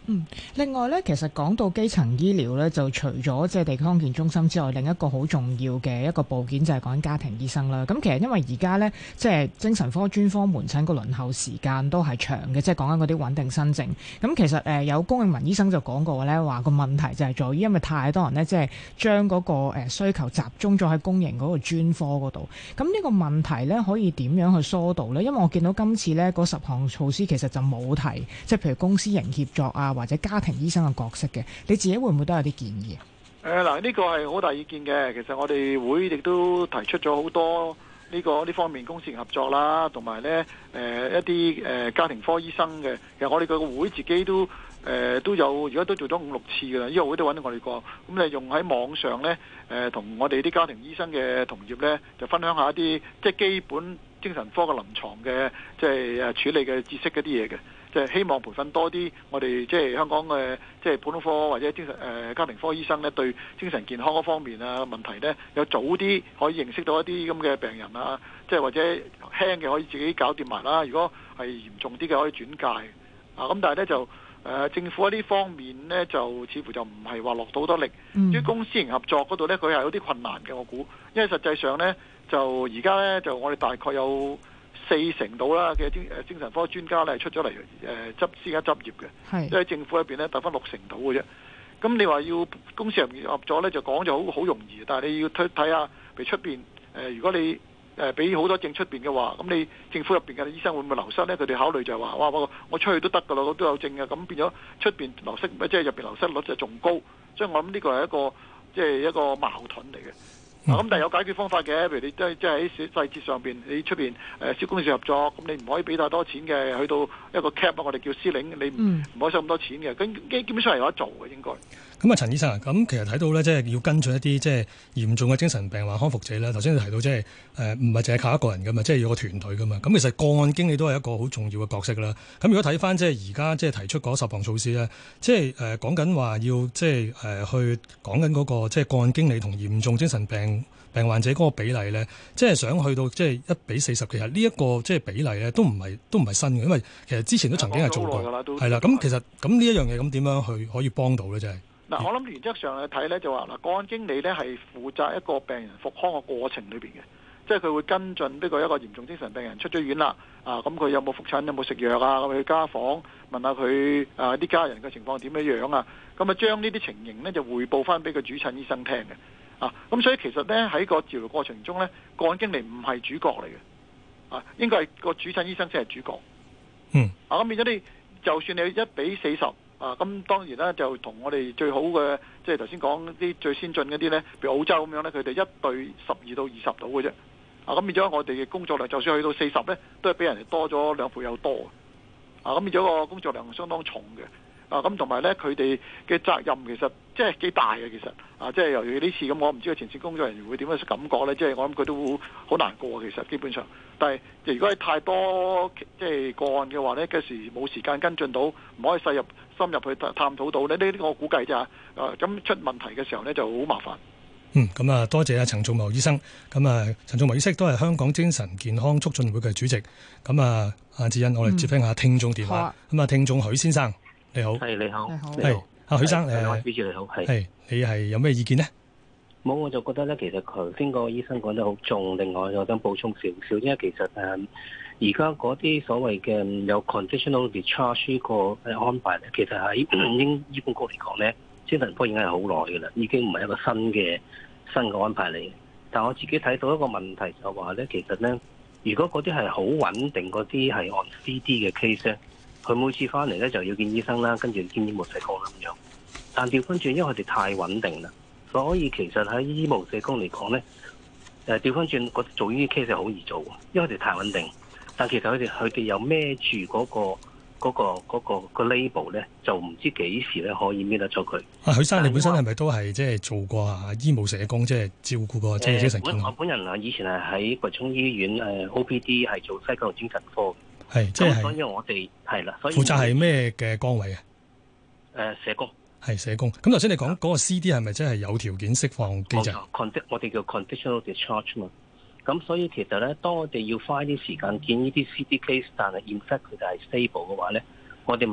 嗯，另外咧，其實講到基層醫療咧，就除咗即係地區康健中心之外，另一個好重要嘅一個部件就係講家庭醫生啦。咁其實因為而家咧，即係精神科專科門診個輪候時間都係長嘅，即係講緊嗰啲穩定新症。咁其實誒有龔永文醫生就講過咧，話個問題就係在於因為太多人咧，即係將嗰個誒需求集中咗喺公營嗰個專科嗰度。咁呢個問題咧，可以點樣去疏導咧？因為我見到今次咧嗰十項措施其實就冇提，即係譬如公私營協作啊，或者家庭醫生嘅角色嘅，你自己會唔會都有啲建議啊？ 誒嗱，呢個係好大意見嘅。其實我哋會亦都提出咗好多呢個呢方面公私營合作啦，同埋呢誒一啲誒家庭科醫生嘅。其實我哋個會自己都誒都有，而家都做咗五六次㗎啦。呢個會都揾到我哋過，咁你用喺網上呢，誒同我哋啲家庭醫生嘅同業呢，就分享一下一啲即係基本精神科嘅臨床嘅即係誒處理嘅知識嗰啲嘢嘅。即係希望培訓多啲我哋即係香港嘅即係普通科或者精神誒、呃、家庭科醫生咧，對精神健康嗰方面啊問題咧，有早啲可以認識到一啲咁嘅病人啊，即係或者輕嘅可以自己搞掂埋啦。如果係嚴重啲嘅可以轉介啊。咁但係咧就誒、呃、政府喺呢方面咧就似乎就唔係話落到好多力。 嗯、 至於公私營合作嗰度咧，佢係有啲困難嘅，我估，因為實際上咧就而家咧就我哋大概有四成到啦嘅精誒精神科專家咧出咗嚟誒執私家執業嘅，即係政府入邊咧得翻六成到嘅啫。咁你話要公私營合作咧，就講就好好容易，但係你要睇睇下，譬如出邊誒，如果你誒俾好多證出邊嘅話，咁你政府入邊嘅醫生會唔會流失咧？佢哋考慮就係話，哇，我我出去都得㗎啦，我都有證嘅，咁變咗出邊流失，即係入邊流失率就仲高，所以我諗呢個係一個即係一個矛盾嚟嘅。咁、嗯、但係有解決方法嘅，譬如你即係即係喺細節上邊，你出邊誒小公司合作，咁你唔可以俾太多錢嘅，去到一個 cap 我哋叫 ceiling，你唔唔可以收咁多錢嘅，咁基基本上係有得做嘅應該。 咁啊，陳醫生啊，咁其實睇到咧，即係要跟進一啲即係嚴重嘅精神病患康復者咧。頭先你提到即係誒唔係淨係靠一個人噶嘛，即係要個團隊噶嘛。咁其實個案經理都係一個好重要嘅角色啦。咁如果睇翻即係而家即係提出嗰十項措施咧，即係誒講緊話要即係誒去講緊嗰個即係個案經理同嚴重精神病病患者嗰個比例咧，即係想去到即係一比四十。其實呢一個即係比例咧，都唔係都唔係新嘅，因為其實之前都曾經係做過。係啦，咁其實咁呢一樣嘢咁點樣去可以幫到咧？即係。嗱，我諗原則上去睇咧，就話嗱，個案經理咧係負責一個病人復康嘅過程裏邊嘅，即係佢會跟進，不過一個嚴重精神病人出咗院啦，啊，咁佢有冇復診，有冇食藥啊，咁去家訪問下佢啊啲家人嘅情況點樣樣啊，咁啊將呢啲情形咧就匯報翻俾個主診醫生聽嘅，啊，咁所以其實咧喺個治療過程中咧，個案經理唔係主角嚟嘅，啊，應該係個主診醫生先係主角，嗯，啊，咁變咗你就算你一比四十。啊，咁當然啦，就同我哋最好嘅，即係頭先講啲最先進嗰啲呢，譬如澳洲咁樣呢，佢哋一對十二到二十度嘅啫。啊，咁變咗我哋嘅工作量，就算去到四十呢，都係比人哋多咗兩倍有多。啊，咁變咗個工作量相當重嘅。啊，咁同埋呢，佢哋嘅責任其實即係幾大嘅，其實啊，即係由於呢次咁，我唔知個前線工作人員會點樣感覺呢？即係我諗佢都好難過，其實基本上。但係如果係太多即係個案嘅話呢，嗰時冇時間跟進到，唔可以細入深入去探討到呢，呢啲我估計咋。啊，咁出問題嘅時候呢，就好麻煩。 嗯，咁啊，多謝啊陳仲謀醫生。咁啊，陳仲謀醫生都係香港精神健康促進會嘅主席。咁啊，阿智欣，我哋接聽下聽眾電話。咁啊，聽眾許先生。你好， 係你好， 係阿許生， 誒，主持你好，係， 係你係有咩意見呢？ 冇，我就覺得咧，其實頭先個醫生講得好重，另外我想補充少少，因為其實誒，而家嗰啲所謂嘅有 conditional discharge 個誒安排咧，其實喺英醫管局嚟講咧，精神科已經係好耐嘅啦，已經唔係一個新嘅新嘅安排嚟嘅。但我自己睇到一個問題就話咧，其實咧，如果嗰啲係好穩定嗰啲係按 C D 嘅 case 咧。佢每次翻嚟咧就要見醫生啦，跟住見醫務社工咁樣。但調翻轉，因為佢哋太穩定啦，所以其實喺醫務社工嚟講咧，誒調翻轉，做呢啲 case 係好易做，因為佢哋太穩定。但其實佢哋佢哋又孭住嗰個嗰、嗰個嗰、嗰個嗰個 label 咧，就唔知幾時咧可以搣得咗佢。啊， 許生，你本身係咪都係即係做過啊醫務社工，即係照顧過即係精神健康？ 我本人啊，以前係喺葵涌醫院誒 O P D 係做西九龍精神科。 係，即係， 所以我哋係啦，所以負責係咩嘅崗位啊？ 誒，社工係社工。咁頭先你講嗰個 C D 係咪真係有條件釋放機制？ 我哋叫 conditional discharge 嘛。咁所以其實咧，當我哋要花啲時間見呢啲 C D case，但係 in fact 佢哋係 stable 嘅話咧，我哋咪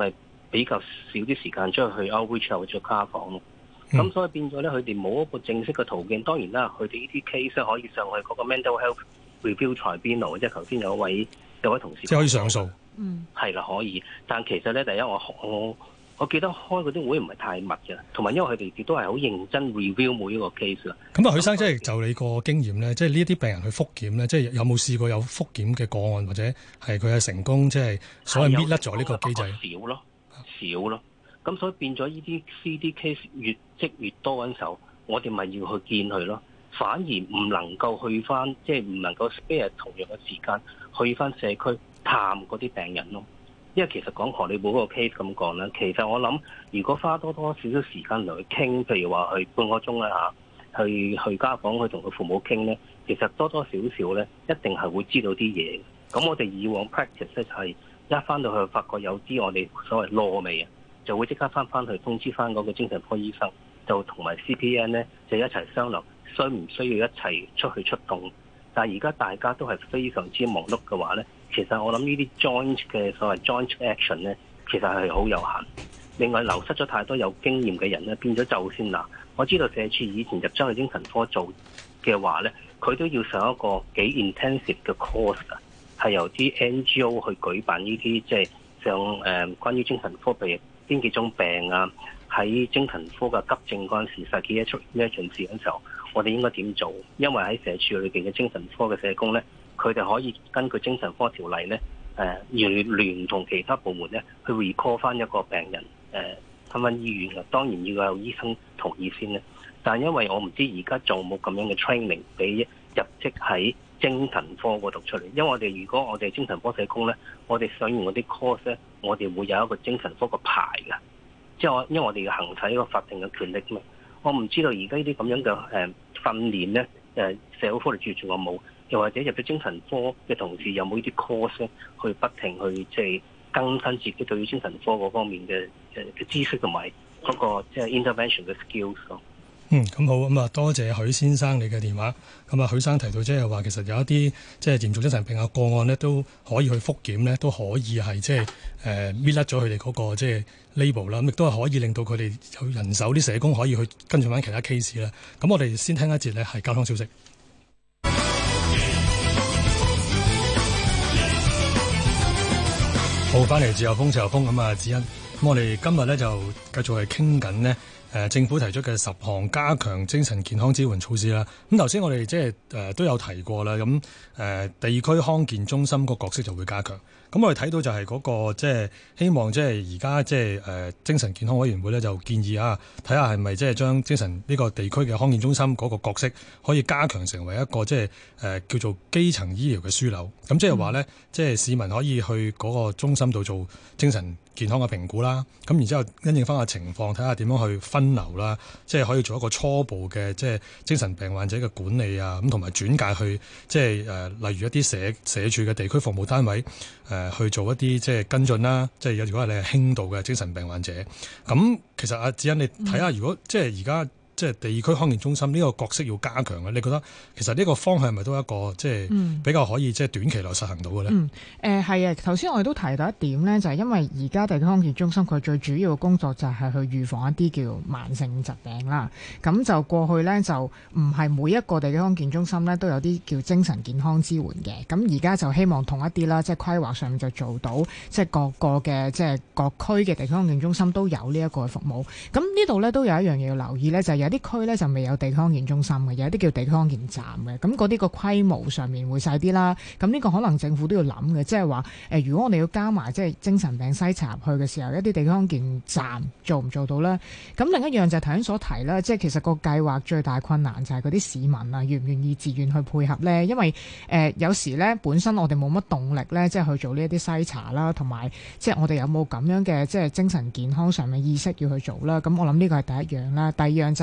比較少啲時間出去 outreach 或者家訪咯。咁、嗯、所以變咗咧，佢哋冇一個正式嘅途徑。當然啦，佢哋呢啲 case 可以上去嗰個 mental health review tribunal，即係頭先有位有位同事即係可以上訴。 嗯，係啦，可以。但其實咧，第一我我我記得開嗰啲會唔係太密嘅，同埋因為佢哋亦都係好認真 review 每一個 case 啦。 咁啊，許生即係就你個經驗咧，即係呢一啲病人去復檢咧，即係有冇試過有復檢嘅個案，或者係佢係成功，即係所謂搣甩咗呢個機制？ 少咯，少咯。咁所以變咗呢啲 C D case 越積越多嗰陣時候，我哋咪要去見佢咯。反而唔能夠去翻，即係唔能夠 spare 同樣嘅時間去翻社區探嗰啲病人咯。因為其實講荷里活嗰個 case 咁講咧，其實我諗如果花多多少少時間嚟去傾，譬如話去半個鐘啦嚇，去去家訪去同佢父母傾咧，其實多多少少咧一定係會知道啲嘢。咁我哋以往 practice 咧就係一翻到去發覺有啲我哋所謂攞味啊，就會即刻翻翻去通知翻嗰個精神科醫生，就同埋 C P N 咧就一齊商量需唔需要一齊出去出動。但係而家大家都係非常之忙碌嘅話咧，其實我諗呢啲 joint 嘅所謂 joint action 咧，其實係好有限。另外流失咗太多有經驗嘅人咧，變咗就先嗱。我知道社署以前入咗去精神科做嘅話咧，佢都要上一個幾 intensive 嘅 course 㗎，係由啲 N G O 去舉辦呢啲即係上誒、呃、關於精神科譬如邊幾種病啊，喺精神科嘅急症嗰陣時 psychiatric emergency 嗰陣時候，我哋應該點做？因為喺社署裏邊嘅精神科嘅社工咧，佢哋可以根據精神科條例咧，誒聯聯同其他部門咧去 recall 翻一個病人誒翻返醫院嘅。當然要有醫生同意先咧。但係因為我唔知而家做冇咁樣嘅 training 俾入職喺精神科嗰度出嚟。因為我哋如果我哋精神科社工咧，我哋上完嗰啲 course 咧，我哋會有一個精神科個牌嘅。即係我因為我哋要行使一個法定嘅權力嘛。我唔知道而家呢啲咁樣嘅誒訓練咧，誒社會福利署仲有冇？又或者入咗精神科嘅同事有冇呢啲 course 咧，去不停去即係更新自己對於精神科嗰方面嘅誒嘅知識同埋嗰個即係 intervention 嘅 skills 咯。 嗯，咁好，咁啊多謝許先生你嘅電話。咁啊，許生提到即係話，其實有一啲即係嚴重精神病嘅個案呢，都可以去復檢呢，都可以係即係誒搣甩咗佢哋嗰個即係 label 啦。咁亦都係可以令到佢哋有人手啲社工可以去跟進翻其他 case 啦。咁我哋先聽一節呢係交通消息。好，翻嚟自由風，自由風咁啊，子欣。咁我哋今日呢，就繼續係傾緊呢。誒政府提出嘅十項加強精神健康支援措施啦，咁頭先我哋即係誒都有提過啦，咁誒地區康健中心個角色就會加強。咁我哋睇到就係嗰個即係希望即係而家即係誒精神健康委員會咧就建議啊，睇下係咪即係將精神呢個地區嘅康健中心嗰個角色可以加強成為一個即係誒叫做基層醫療嘅樞紐。咁即係話咧，即係市民可以去嗰個中心度做精神健康嘅評估啦。咁然之後因應翻個情況，睇下點樣去分流啦，即係可以做一個初步嘅即係精神病患者嘅管理啊，咁同埋轉介去即係誒例如一啲社社署嘅地區服務單位誒。呃去做一啲即係跟進啦，即係如果係你係輕度嘅精神病患者，咁其實阿子欣你睇下，如果即係而家即係地區康健中心呢個角色要加強嘅，你覺得其實呢個方向係咪都一個即係比較可以即係短期內實行到嘅咧？嗯， 誒係啊，頭先我哋都提到一點咧，就係因為而家地區康健中心佢最主要嘅工作就係去預防一啲叫慢性疾病啦。咁就過去咧就唔係每一個地區康健中心咧都有啲叫精神健康支援嘅。咁而家就希望同一啲啦，即係規劃上面就做到，即係各個嘅即係各區嘅地區康健中心都有呢一個服務。咁呢度咧都有一樣嘢要留意咧，就係有啲區咧就未有地區康健中心嘅，有一啲叫地區康健站嘅，咁嗰啲個規模上面會細啲啦。咁呢個可能政府都要諗嘅，即係話誒，如果我哋要加埋即係精神病篩查入去嘅時候，一啲地區康健站做唔做到咧？咁另一樣就係頭先所提啦，即係其實個計劃最大困難就係嗰啲市民啊，願唔願意自願去配合咧？因為誒、呃、有時咧本身我哋冇乜動力咧，即係去做呢一啲篩查啦，同埋即係我哋有冇咁樣嘅即係精神健康上面意識要去做啦。咁我諗呢個係第一樣啦。第二樣就係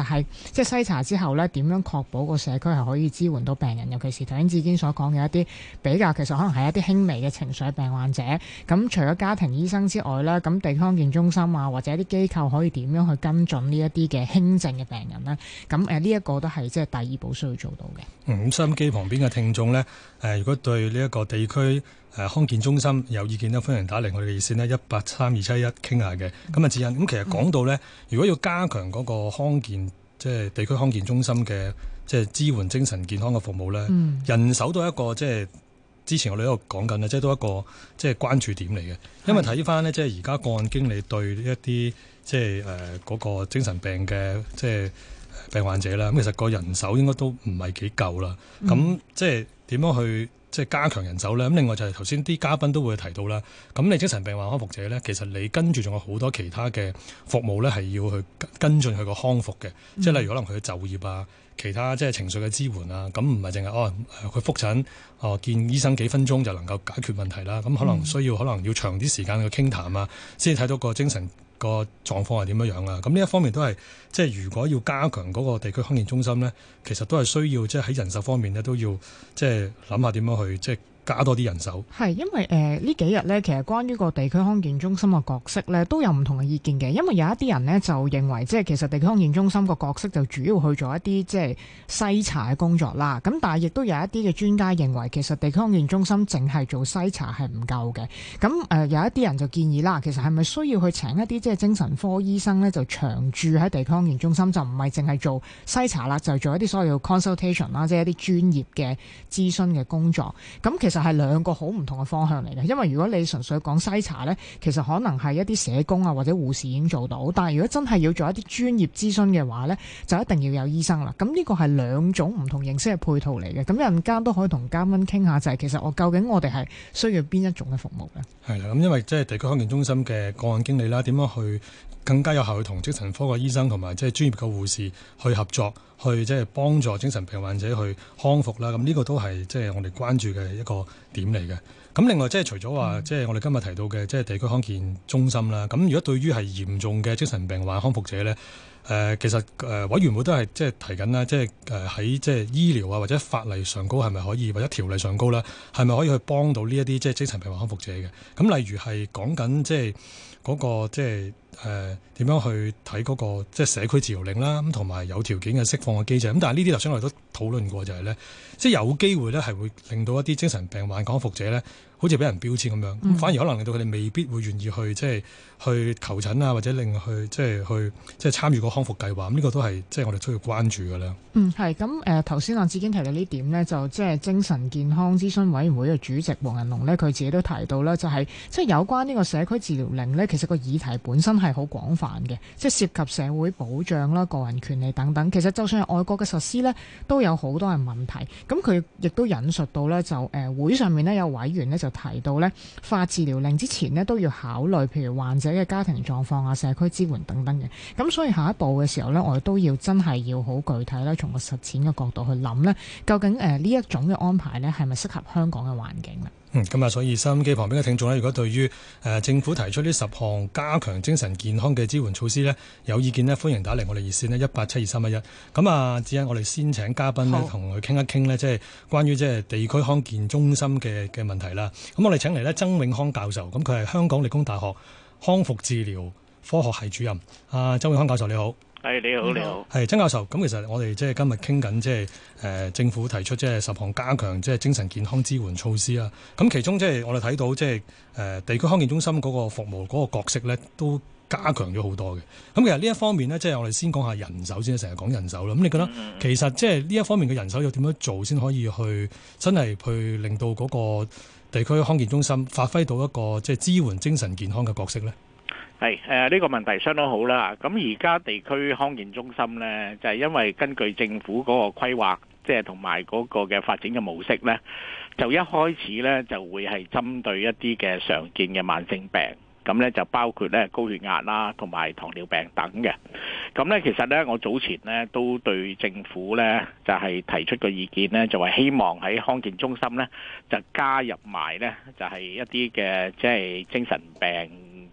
係即係篩查之後咧，點樣確保個社區係可以支援到病人，尤其是頭先志堅所講嘅一啲比較其實可能係一啲輕微嘅情緒病患者。咁除咗家庭醫生之外咧，咁地區康健中心啊或者一啲機構可以點樣去跟進呢一啲嘅輕症嘅病人咧？咁誒呢一個都係即係第二步需要做到嘅。 嗯，咁收音機旁邊嘅聽眾咧，誒、呃、如果對呢一個地區誒康健中心有意見咧，歡迎打嚟我哋嘅熱線呢，一八三二七一傾下嘅。咁啊，智欣，咁其實講到咧，嗯、如果要加強嗰個康健，即係地區康健中心嘅即係支援精神健康嘅服務咧，嗯、人手都係一個即係之前我哋喺度講緊咧，即係都一個即係關注點嚟嘅。因為睇翻呢，即係而家個案經理對一啲即係誒嗰個精神病嘅即係病患者啦，咁其實個人手應該都唔係幾夠啦。咁、嗯、即係點樣去即係加強人手咧？咁另外就係頭先啲嘉賓都會提到啦。咁你精神病患康復者咧，其實你跟住仲有好多其他嘅服務咧，係要去跟進佢個康復嘅。嗯、即係例如可能佢嘅就業啊，其他即係情緒嘅支援啊。咁唔係淨係哦佢覆診哦、呃、見醫生幾分鐘就能夠解決問題啦。咁可能需要、嗯、可能要長啲時間去傾談啊，先至睇到個精神個狀況係點樣樣啊？咁呢一方面都係即係如果要加強嗰個地區康健中心咧，其實都係需要即係喺人手方面咧都要即係諗下點樣去即係加多啲人手。係因為誒、呃、呢幾日咧，其實關於個地區康健中心嘅角色咧都有唔同嘅意見嘅。因為有一啲人咧就認為即係其實地區康健中心個角色就主要去做一啲即係篩查嘅工作啦。咁但係亦都有一啲嘅專家認為其實地區康健中心淨係做篩查係唔夠嘅。咁誒、呃、有一啲人就建議啦，其實係咪需要去請一啲即係精神科醫生咧就長駐喺地區康健中心，就唔係淨係做篩查啦，就係做一啲所謂嘅 consultation 啦，即係一啲專業嘅諮詢嘅工作。咁其實係兩個好唔同嘅方向嚟嘅，因為如果你純粹講篩查呢，其實可能係一啲社工啊或者護士已經做到，但係如果真係要做一啲專業諮詢嘅話呢，就一定要有醫生啦。咁呢個係兩種唔同形式嘅配套嚟嘅。咁陣間都可以同嘉賓傾下，就係、是、其實我究竟我哋係需要邊一種嘅服務嘅？係啦，咁因為即係地區康健中心嘅個案經理啦，點樣去更加有效去同精神科嘅醫生同埋即係專業嘅護士去合作，去即係幫助精神病患者去康復啦。咁呢個都係即係我哋關注嘅一個點嚟嘅。咁另外即係除咗話即係我哋今日提到嘅即係地區康健中心啦。咁如果對於係嚴重嘅精神病患康復者咧，誒、呃、其實誒、呃、委員會都係即係提緊啦，即係誒喺即係醫療啊或者法例上高係咪可以，或者條例上高啦，係咪可以去幫到呢一啲即係精神病患康復者嘅？咁例如係講緊即係嗰個即係誒點樣去睇嗰個即係社區治療令啦，咁同埋有條件嘅釋放嘅機制。咁但係呢啲頭先我哋都討論過，就係咧，即係有機會咧係會令到一啲精神病患康復者咧，好似俾人標籤咁樣，嗯、反而可能令到佢哋未必會願意去即係去求診啊，或者令去即係去即係參與個康復計劃。咁呢個都係即係我哋需要關注嘅啦。嗯，係咁誒，頭先阿志堅提到呢點呢，就即係精神健康諮詢委員會嘅主席黃仁龍呢，佢自己都提到啦，就係即係有關呢個社區治療令呢，其實個議題本身係好廣泛嘅，即係涉及社會保障啦、個人權利等等。其實就算係外國嘅實施呢，都有好多嘅問題。咁佢亦都引述到呢，就誒、呃、會上面呢，有委員呢就提到呢，發治療令之前呢，都要考慮譬如患者嘅家庭狀況啊、社區支援等等嘅。咁所以下一步嘅時候呢，我哋都要真係要好具體啦，從個實踐嘅角度去諗呢，究竟誒呢、呃、一種嘅安排呢，係咪適合香港嘅環境呢？嗯，咁啊，所以收音機旁邊嘅聽眾呢，如果對於誒、呃、政府提出呢十項加強精神健康嘅支援措施呢，有意見呢，歡迎打嚟我哋熱線呢，一八七二三一一。咁啊，只係我哋先請嘉賓呢，同佢傾一傾呢，即係關於即係地區康健中心嘅嘅問題啦。咁我哋請嚟呢，曾永康教授，咁佢係香港理工大學康復治療科學系主任。啊，曾永康教授你好。係你好，你好。係曾教授，咁其實我哋即係今日傾緊，即係誒政府提出即係十項加強即係精神健康支援措施啦。咁其中即係我哋睇到即係誒地區康健中心嗰個服務嗰個角色咧，都加強咗好多嘅。咁其實呢一方面咧，即係我哋先講下人手先，成日講人手啦。咁你覺得其實即係呢一方面嘅人手要點樣做先可以去真係去令到嗰個地區康健中心發揮到一個即係支援精神健康嘅角色咧？ 係誒呢個問題相當好啦。咁而家地區康健中心呢，就係、是、因為根據政府嗰個規劃，即係同埋嗰個嘅發展嘅模式呢，就一開始呢就會係針對一啲嘅常見嘅慢性病，咁呢就包括呢高血壓啦，同埋糖尿病等嘅。咁呢其實呢，我早前呢都對政府呢就係、是、提出個意見呢，就係希望喺康健中心呢就加入埋呢，就係、是、一啲嘅即係精神病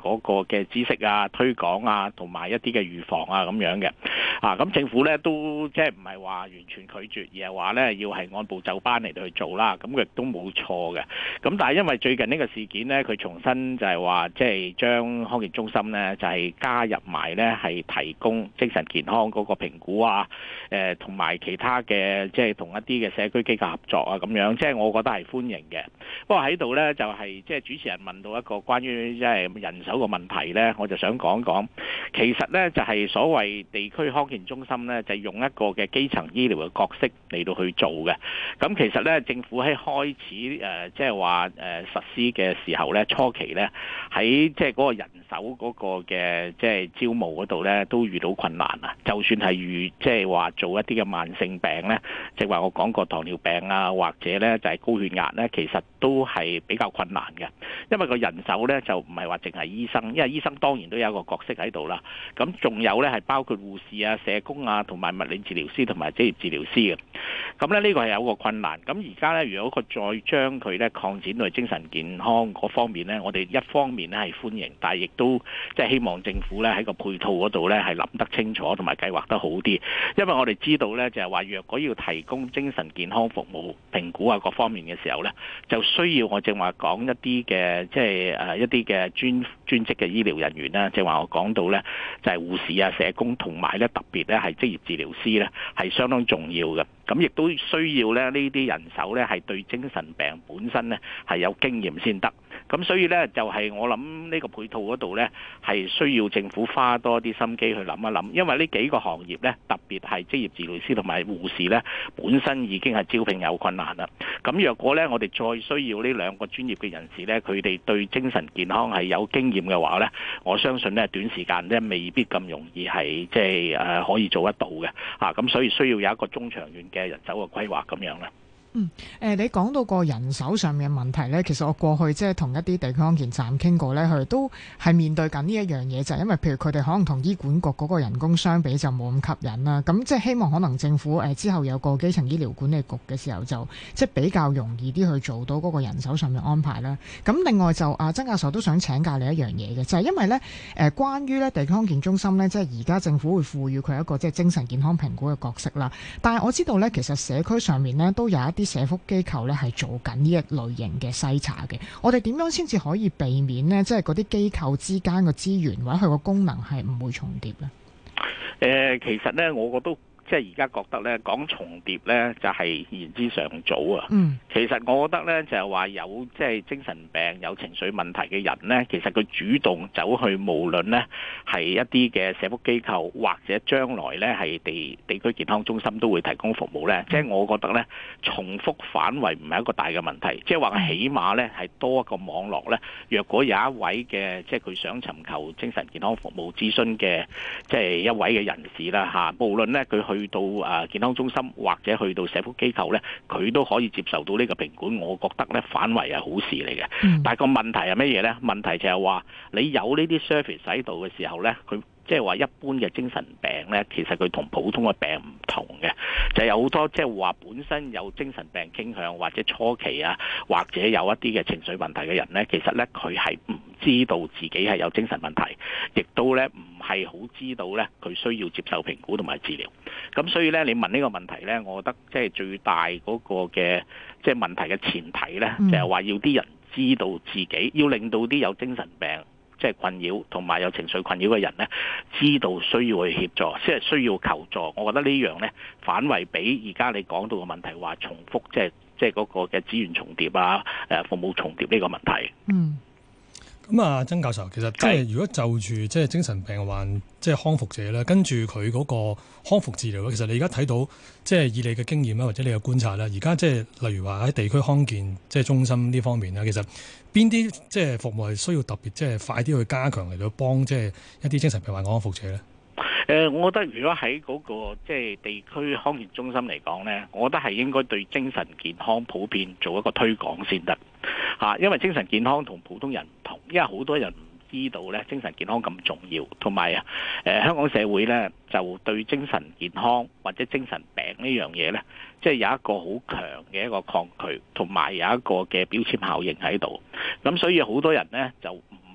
嗰個嘅知識啊、推廣啊，同埋一啲嘅預防啊咁樣嘅。啊，咁政府咧都即係唔係話完全拒絕，而係話咧要係按部就班嚟到去做啦。咁亦都冇錯嘅。咁但係因為最近呢個事件咧，佢重新就係話即係將康健中心咧就係加入埋咧係提供精神健康嗰個評估啊，誒同埋其他嘅即係同一啲嘅社區機構合作啊咁樣，即係我覺得係歡迎嘅。不過喺度咧就係即係主持人問到一個關於即係人手嘅問題咧，我就想講講，其實咧就係所謂地區康健中心咧，就用一個嘅基層醫療嘅角色嚟到去做嘅。咁其實咧政府喺開始誒即係話誒實施嘅時候咧，初期咧喺即係嗰個人手嗰個嘅即係招募嗰度咧，都遇到困難啊。就算係遇即係話做一啲嘅慢性病咧，即係話我講過糖尿病啊，或者咧就係高血壓咧，其實都係比較困難嘅。因為個人手咧就唔係話淨係醫生，因為醫生當然都有一個角色喺度啦。咁仲有咧係包括護士啊、社工啊，同埋物理治療師同埋職業治療師嘅。咁咧呢個係有個困難。咁而家咧，如果佢再將佢咧擴展到精神健康嗰方面咧，我哋一方面咧係歡迎，但係亦都即係希望政府咧喺個配套嗰度咧係諗得清楚，同埋計劃得好啲。因為我哋知道咧就係話，若果要提供精神健康服務評估啊各方面嘅時候咧，就需要我正話講一啲嘅即係誒一啲嘅專專職嘅醫療人員啦，正話我講到咧就係護士啊、社工同埋咧特別咧係職業治療師咧係相當重要嘅。咁亦都需要咧呢啲人手咧係對精神病本身咧係有經驗先得。咁所以咧就係我諗呢個配套嗰度咧係需要政府花多啲心機去諗一諗，因為呢幾個行業咧特別係職業治療師同埋護士咧本身已經係招聘有困難啦。咁若果咧我哋再需要呢兩個專業嘅人士咧，佢哋對精神健康係有經驗嘅話咧，我相信咧短時間咧未必咁容易係即係誒可以做得到嘅。啊，咁所以需要有一個中長遠嘅人手嘅規劃咁樣啦。 嗯，誒、呃，你講到個人手上面嘅問題咧，其實我過去即係同一啲地區康健站傾過咧，佢哋都係面對緊呢一樣嘢，就係、是、因為譬如佢哋可能同醫管局嗰個人工相比就冇咁吸引啦。咁即係希望可能政府誒、呃、之後有個基層醫療管理局嘅時候，就即係比較容易啲去做到嗰個人手上面安排啦。咁另外就啊曾教授都想請教你一樣嘢嘅，就係、是、因為咧誒、呃、關於咧地區康健中心咧，即係而家政府會賦予佢一個即係精神健康評估嘅角色啦。但係我知道咧，其實社區上面咧都有一啲社福機構咧係做緊呢一類型嘅篩查嘅，我哋點樣先至可以避免呢？即係嗰啲機構之間嘅資源或者佢個功能係唔會重疊咧？ 誒、呃，其實咧，我覺得。即係而家覺得咧講重疊咧就係言之尚早啊！嗯，其實我覺得咧就係話有即係精神病有情緒問題嘅人咧，其實佢主動走去無論咧係一啲嘅社福機構或者將來咧係地地區健康中心都會提供服務咧。即係我覺得咧重複反圍唔係一個大嘅問題，即係話起碼咧係多一個網絡咧。若果有一位嘅即係佢想尋求精神健康服務諮詢嘅即係一位嘅人士啦嚇，無論咧佢去去到啊健康中心或者去到社福機構咧，佢都可以接受到呢個評估。我覺得咧反為係好事嚟嘅。嗯、但係個問題係乜嘢咧？問題就係話你有呢啲 service 喺度嘅時候咧，佢即係話一般嘅精神病咧，其實佢同普通嘅病唔同嘅，就係有好多即係話本身有精神病傾向或者初期啊，或者有一啲嘅情緒問題嘅人咧，其實咧佢係唔知道自己係有精神問題，亦都咧唔係好知道咧佢需要接受評估同埋治療。咁所以咧，你問呢個問題咧，我覺得即係最大嗰個嘅即係問題嘅前提咧，就係話要啲人知道自己，要令到啲有精神病即係困擾同埋有情緒困擾嘅人咧，知道需要去協助，即係需要求助。我覺得呢樣咧反為比而家你講到嘅問題話重複，即係即係嗰個嘅資源重疊啊，誒服務重疊呢個問題。嗯。 咁啊，曾教授，其實即係如果就住即係精神病患即係康復者咧，跟住佢嗰個康復治療咧，其實你而家睇到即係以你嘅經驗啦，或者你嘅觀察啦，而家即係例如話喺地區康健即係中心呢方面咧，其實邊啲即係服務係需要特別即係快啲去加強嚟到幫即係一啲精神病患康復者咧？ 誒、呃，我覺得如果喺嗰、那個即係地區康健中心嚟講咧，我覺得係應該對精神健康普遍做一個推廣先得嚇，因為精神健康同普通人唔同，因為好多人唔知道咧精神健康咁重要，同埋啊誒香港社會咧就對精神健康或者精神病呢樣嘢咧，即係有一個好強嘅一個抗拒，同埋有一個嘅標籤效應喺度，咁所以好多人咧就唔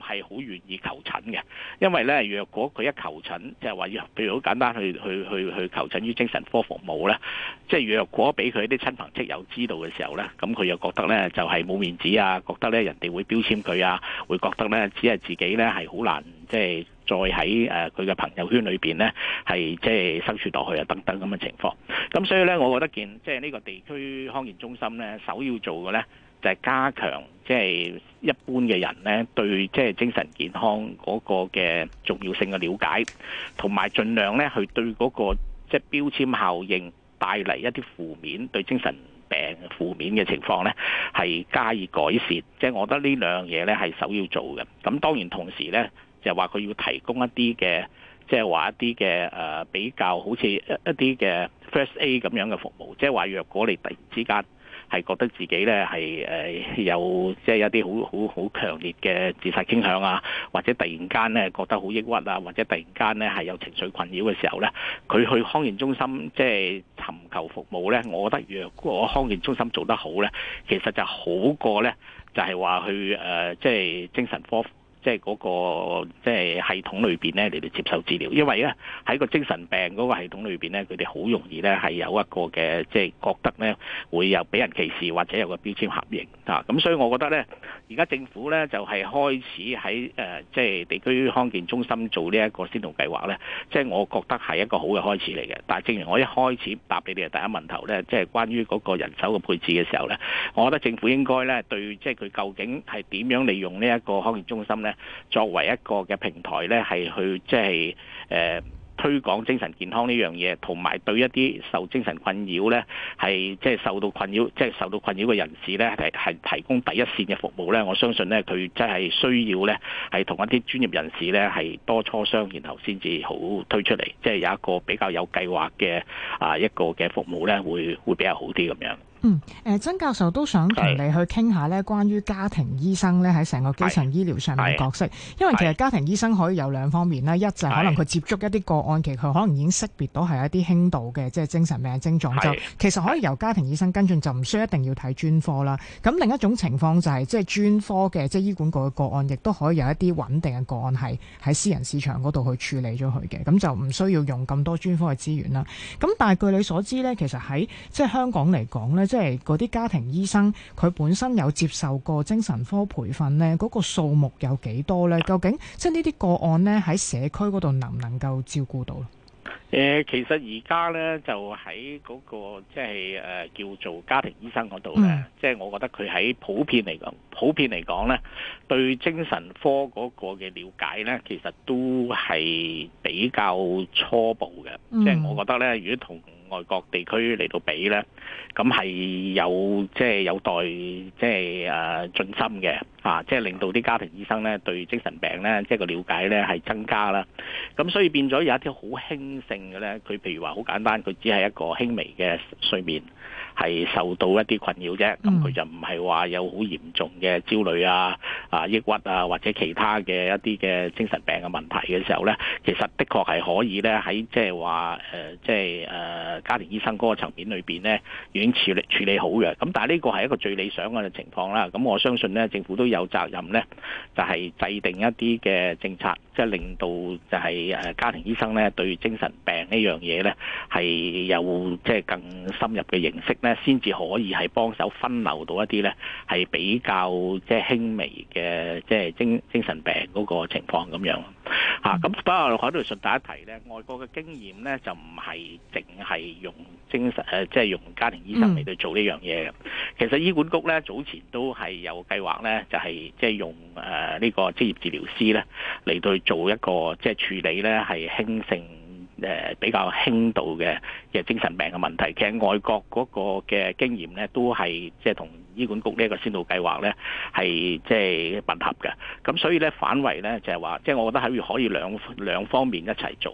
係好願意求診嘅，因為咧若果佢一求診，即係話要譬如好簡單去去去去求診於精神科服務咧，即係若果俾佢啲親朋戚友知道嘅時候咧，咁佢又覺得咧就係冇面子啊，覺得咧人哋會標籤佢啊，會覺得咧只係自己咧係好難即係再喺誒佢嘅朋友圈裏邊咧係即係生存落去啊等等咁嘅情況。咁所以咧，我覺得見即係呢個地區康健中心咧，首要做嘅咧就係加強即係一般嘅人咧對即係精神健康嗰個嘅重要性嘅了解，同埋盡量咧去對嗰個即係標籤效應帶嚟一啲負面對精神病負面嘅情況咧，係加以改善。即係我覺得呢兩樣嘢咧係首要做嘅。咁當然同時咧就話佢要提供一啲嘅即係話一啲嘅誒比較好似一一啲嘅 First Aid 咁樣嘅服務，即係話若果你突然之間係覺得自己咧係誒有即係一啲好好好強烈嘅自殺傾向啊，或者突然間咧覺得好抑鬱啊，或者突然間咧係有情緒困擾嘅時候咧，佢去康健中心即係尋求服務咧，我覺得若果康健中心做得好咧，其實就好過咧就係話去誒即係精神科。即係嗰個即係系統裏邊咧嚟到接受治療，因為咧喺個精神病嗰個系統裏邊咧，佢哋好容易咧係有一個嘅即係覺得咧會有俾人歧視或者有個標籤合認啊，咁所以我覺得咧而家政府咧就係開始喺誒即係地區康健中心做呢一個先導計劃咧，即係我覺得係一個好嘅開始嚟嘅。但係正如我一開始答你哋嘅第一問頭咧，即係關於嗰個人手嘅配置嘅時候咧，我覺得政府應該咧對即係佢究竟係點樣利用呢一個康健中心咧，作為一個嘅平台咧，係去即係誒推廣精神健康呢樣嘢，同埋對一啲受精神困擾咧，係即係受到困擾，即係受到困擾嘅人士咧，係係提供第一線嘅服務咧。我相信咧，佢真係需要咧，係同一啲專業人士咧，係多磋商，然後先至好推出嚟，即係有一個比較有計劃嘅啊一個嘅服務咧，會會比較好啲咁樣。 嗯，誒、呃，曾教授都想同你去傾下咧，關於家庭醫生咧喺成個基層醫療上面嘅角色，因為其實家庭醫生可以有兩方面啦，一就係可能佢接觸一啲個案，其實佢可能已經識別到係一啲輕度嘅即係精神病嘅症狀，就其實可以由家庭醫生跟進，就唔需要一定要睇專科啦。咁另一種情況就係、是、即係專科嘅即係醫管局嘅個案，亦都可以有一啲穩定嘅個案係喺私人市場嗰度去處理咗佢嘅，咁就唔需要用咁多專科嘅資源啦。咁但係據你所知咧，其實喺即係香港嚟講咧，即係嗰啲家庭醫生佢本身有接受過精神科培訓呢，嗰個數目有幾多呢？究竟即係呢啲個案呢，喺社區嗰度能唔能夠照顧到？ 誒，其實而家咧就喺嗰、那個即係誒叫做家庭醫生嗰度咧，即係、嗯、我覺得佢喺普遍嚟講，普遍嚟講咧，對精神科嗰個嘅了解咧，其實都係比較初步嘅。即係、嗯、我覺得咧，如果同外國地區嚟到比咧，咁係有即係、就是、有待即係誒進心嘅啊！即、就、係、是、令到啲家庭醫生咧對精神病咧即係個了解咧係增加啦。咁所以變咗有一啲好輕性嘅咧，佢譬如話好簡單，佢只係一個輕微嘅睡眠係受到一啲困擾啫。咁佢、嗯、就唔係話有好嚴重嘅焦慮啊、啊抑鬱啊或者其他嘅一啲嘅精神病嘅問題嘅時候咧，其實的確係可以咧喺即係話誒即係誒家庭醫生嗰個層面裏邊咧已經處理處理好嘅。咁但係呢個係一個最理想嘅情況啦。咁我相信咧政府都有責任咧，就係、是、制定一啲嘅政策，即、就、係、是、令到就係誒家庭醫生咧對精神病呢樣嘢咧係有即係更深入嘅認識咧，先至可以係幫手分流到一啲咧係比較即係輕微嘅即係精精神病嗰個情況咁樣嚇。咁不過喺度順帶一提咧，外國嘅經驗咧就唔係淨係用精神誒，即係用家庭醫生嚟到做呢樣嘢嘅。其實醫管局咧早前都係有計劃咧，就係即係用誒呢個職業治療師咧嚟到做一個即係處理咧係輕性誒比較輕度嘅嘅精神病嘅問題。其實外國嗰個嘅經驗咧都係即係同醫管局呢一個先導計劃咧係即係吻合嘅。咁所以咧反為咧就係話，即係我覺得係可以兩兩方面一齊做。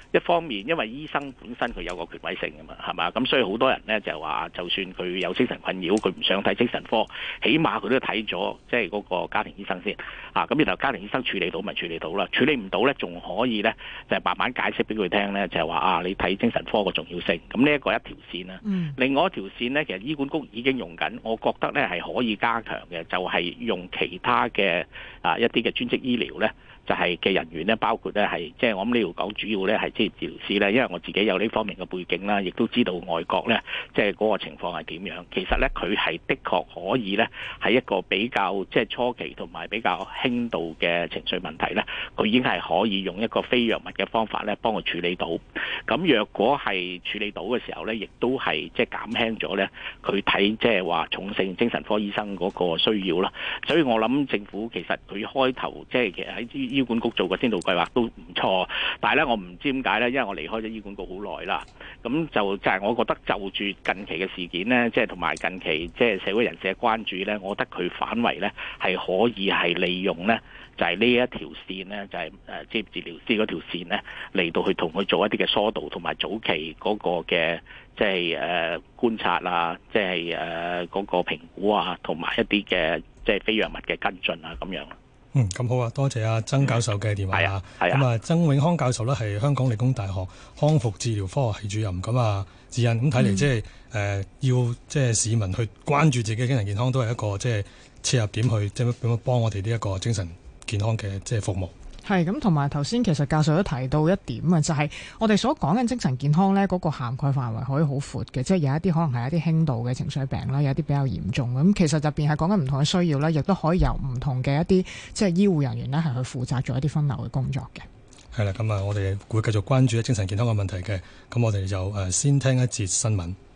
一方面因為醫生本身佢有個權威性㗎嘛，係嘛？咁所以好多人咧就話，就算佢有精神困擾，佢唔想睇精神科，起碼佢都睇咗即係嗰個家庭醫生先啊。咁然後家庭醫生處理到咪處理到啦，處理唔到咧仲可以咧就係慢慢解釋俾佢聽咧，就係話啊你睇精神科個重要性。咁呢一個一條線啦。嗯、另外一條線咧，其實醫管局已經用緊，我覺得咧係可以加強嘅，就係、是、用其他嘅啊一啲嘅專職醫療咧。就係嘅人員咧，包括咧係即係我諗呢度講主要咧係職業治療師咧，因為我自己有呢方面嘅背景啦，亦都知道外國咧即係嗰個情況係點樣。其實咧佢係的確可以咧喺一個比較即係初期同埋比較輕度嘅情緒問題咧，佢已經係可以用一個非藥物嘅方法咧幫佢處理到。咁若果係處理到嘅時候咧，亦都係即係減輕咗咧佢睇即係話重症精神科醫生嗰個需要啦。所以我諗政府其實佢開頭即係其實喺醫管局做個先導計劃都唔錯，但係咧我唔知點解咧，因為我離開咗醫管局好耐啦，咁就就係我覺得就住近期嘅事件咧，即係同埋近期即係社會人士嘅關注咧，我覺得佢反為咧係可以係利用咧，就係呢一條線咧，就係誒職業治療師嗰條線咧嚟到去同佢做一啲嘅疏導同埋早期嗰個嘅即係誒觀察啊，即係誒嗰個評估啊，同埋一啲嘅即係非藥物嘅跟進啊咁樣。 嗯，咁好啊，多謝阿曾教授嘅電話啊。 係啊， 咁啊，曾永康教授咧係香港理工大學康復治療科學系主任。咁啊，智欣咁睇嚟，即係誒要即係市民去關注自己嘅精神健康，都係一個即係切入點去即係點樣幫我哋呢一個精神健康嘅即係服務。 係咁，同埋頭先其實教授都提到一點啊，就係、是、我哋所講嘅精神健康咧，嗰個涵蓋範圍可以好闊嘅，即係有一啲可能係一啲輕度嘅情緒病啦，有一啲比較嚴重咁。其實入邊係講緊唔同嘅需要啦，亦都可以由唔同嘅一啲即係醫護人員咧係去負責做一啲分流嘅工作嘅。 係啦，咁啊，我哋會繼續關注精神健康嘅問題嘅。咁我哋就誒先聽一節新聞。